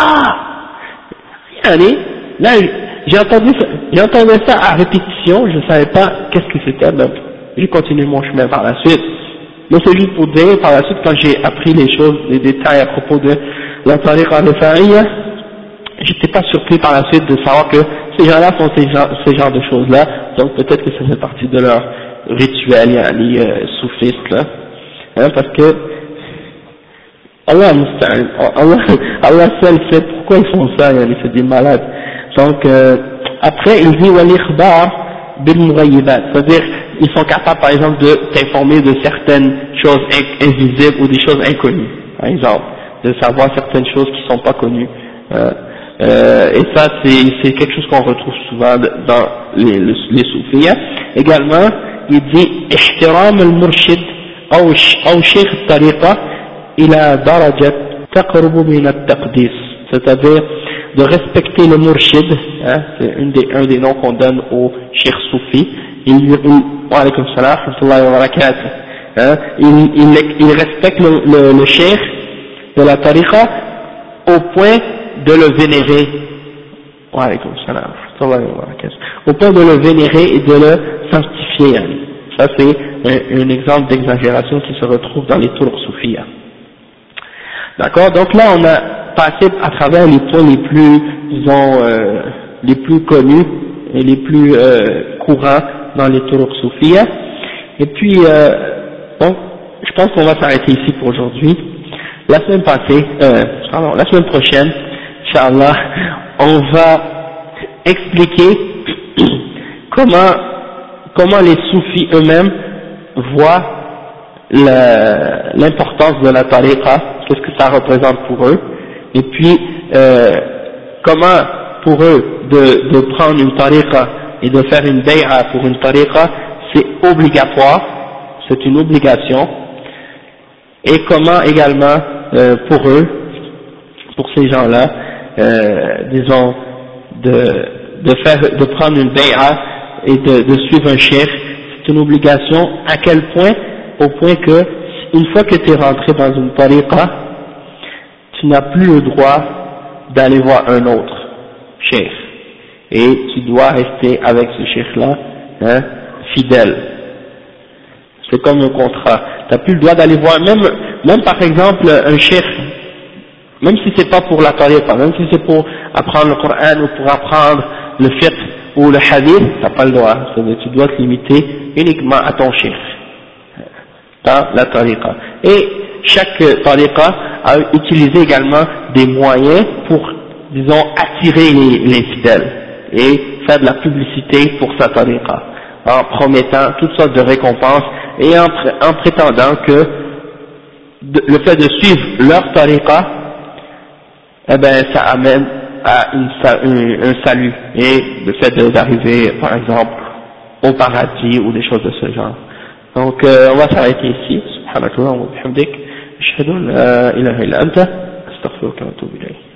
allez, là j'entendais ça à répétition, je ne savais pas qu'est-ce que c'était, donc j'ai continué mon chemin par la suite. Mais c'est juste pour dire, par la suite, quand j'ai appris les choses, les détails à propos de la tariqa al-Rifa'iyya, j'étais pas surpris par la suite de savoir que ces gens-là font ces genres de choses-là, donc peut-être que ça fait partie de leur rituel, soufiste, là, parce que Allah musta'an. Allah seul sait pourquoi ils font ça, c'est des malades. Donc, après, il dit, wal-ikhbar bil-mughayyibat. C'est-à-dire, ils sont capables, par exemple, de t'informer de certaines choses invisibles ou des choses inconnues. Par exemple, de savoir certaines choses qui ne sont pas connues. Et ça, c'est quelque chose qu'on retrouve souvent dans les soufis. Également, il dit, ihtiram al-murshid أو شيخ الطريقة إلى درجة تقرب من التقديس, c'est-à-dire de respecter le murshid, hein, c'est un des noms qu'on donne au cheikh soufi. Wa alaykum salam wa rahmatullahi wa barakatuh, hein, il respecte le cheikh de la tariqa au point de le vénérer. Wa alaykum salam wa rahmatullahi wa barakatuh, au point de le vénérer et de le sanctifier. Hein. Ça c'est un exemple d'exagération qui se retrouve dans les tours soufis. D'accord, donc là on a passé à travers les points les plus, disons, les plus connus et les plus courants dans les tours soufis. Et puis, bon, je pense qu'on va s'arrêter ici pour aujourd'hui. La semaine prochaine, Inch'Allah, on va expliquer comment les soufis eux-mêmes voient l'importance de la tariqa, qu'est-ce que ça représente pour eux, et puis comment pour eux de prendre une tariqa et de faire une bay'a pour une tariqa, c'est obligatoire, c'est une obligation, et comment également pour eux, pour ces gens-là, disons, de prendre une bay'a et de suivre un cheikh, c'est une obligation. À quel point? Au point que une fois que tu es rentré dans une tariqa, tu n'as plus le droit d'aller voir un autre cheikh, et tu dois rester avec ce cheikh-là, hein, fidèle. C'est comme un contrat. Tu n'as plus le droit d'aller voir, même par exemple un cheikh, même si c'est pas pour la tariqa, même si c'est pour apprendre le Coran ou pour apprendre le fiqh ou le hadith, t'as pas le droit. Tu dois te limiter uniquement à ton cheikh dans la tariqa. Et chaque tariqa a utilisé également des moyens pour, disons, attirer les fidèles et faire de la publicité pour sa tariqa, en promettant toutes sortes de récompenses et en prétendant que le fait de suivre leur tariqa, eh ben, ça amène à un salut, et le fait d'arriver par exemple au paradis ou des choses de ce genre. Donc on va s'arrêter ici. Subhanakallah wa bihamdik, ashhadu an la ilaha illa anta, astaghfiruka wa atubu ilayk.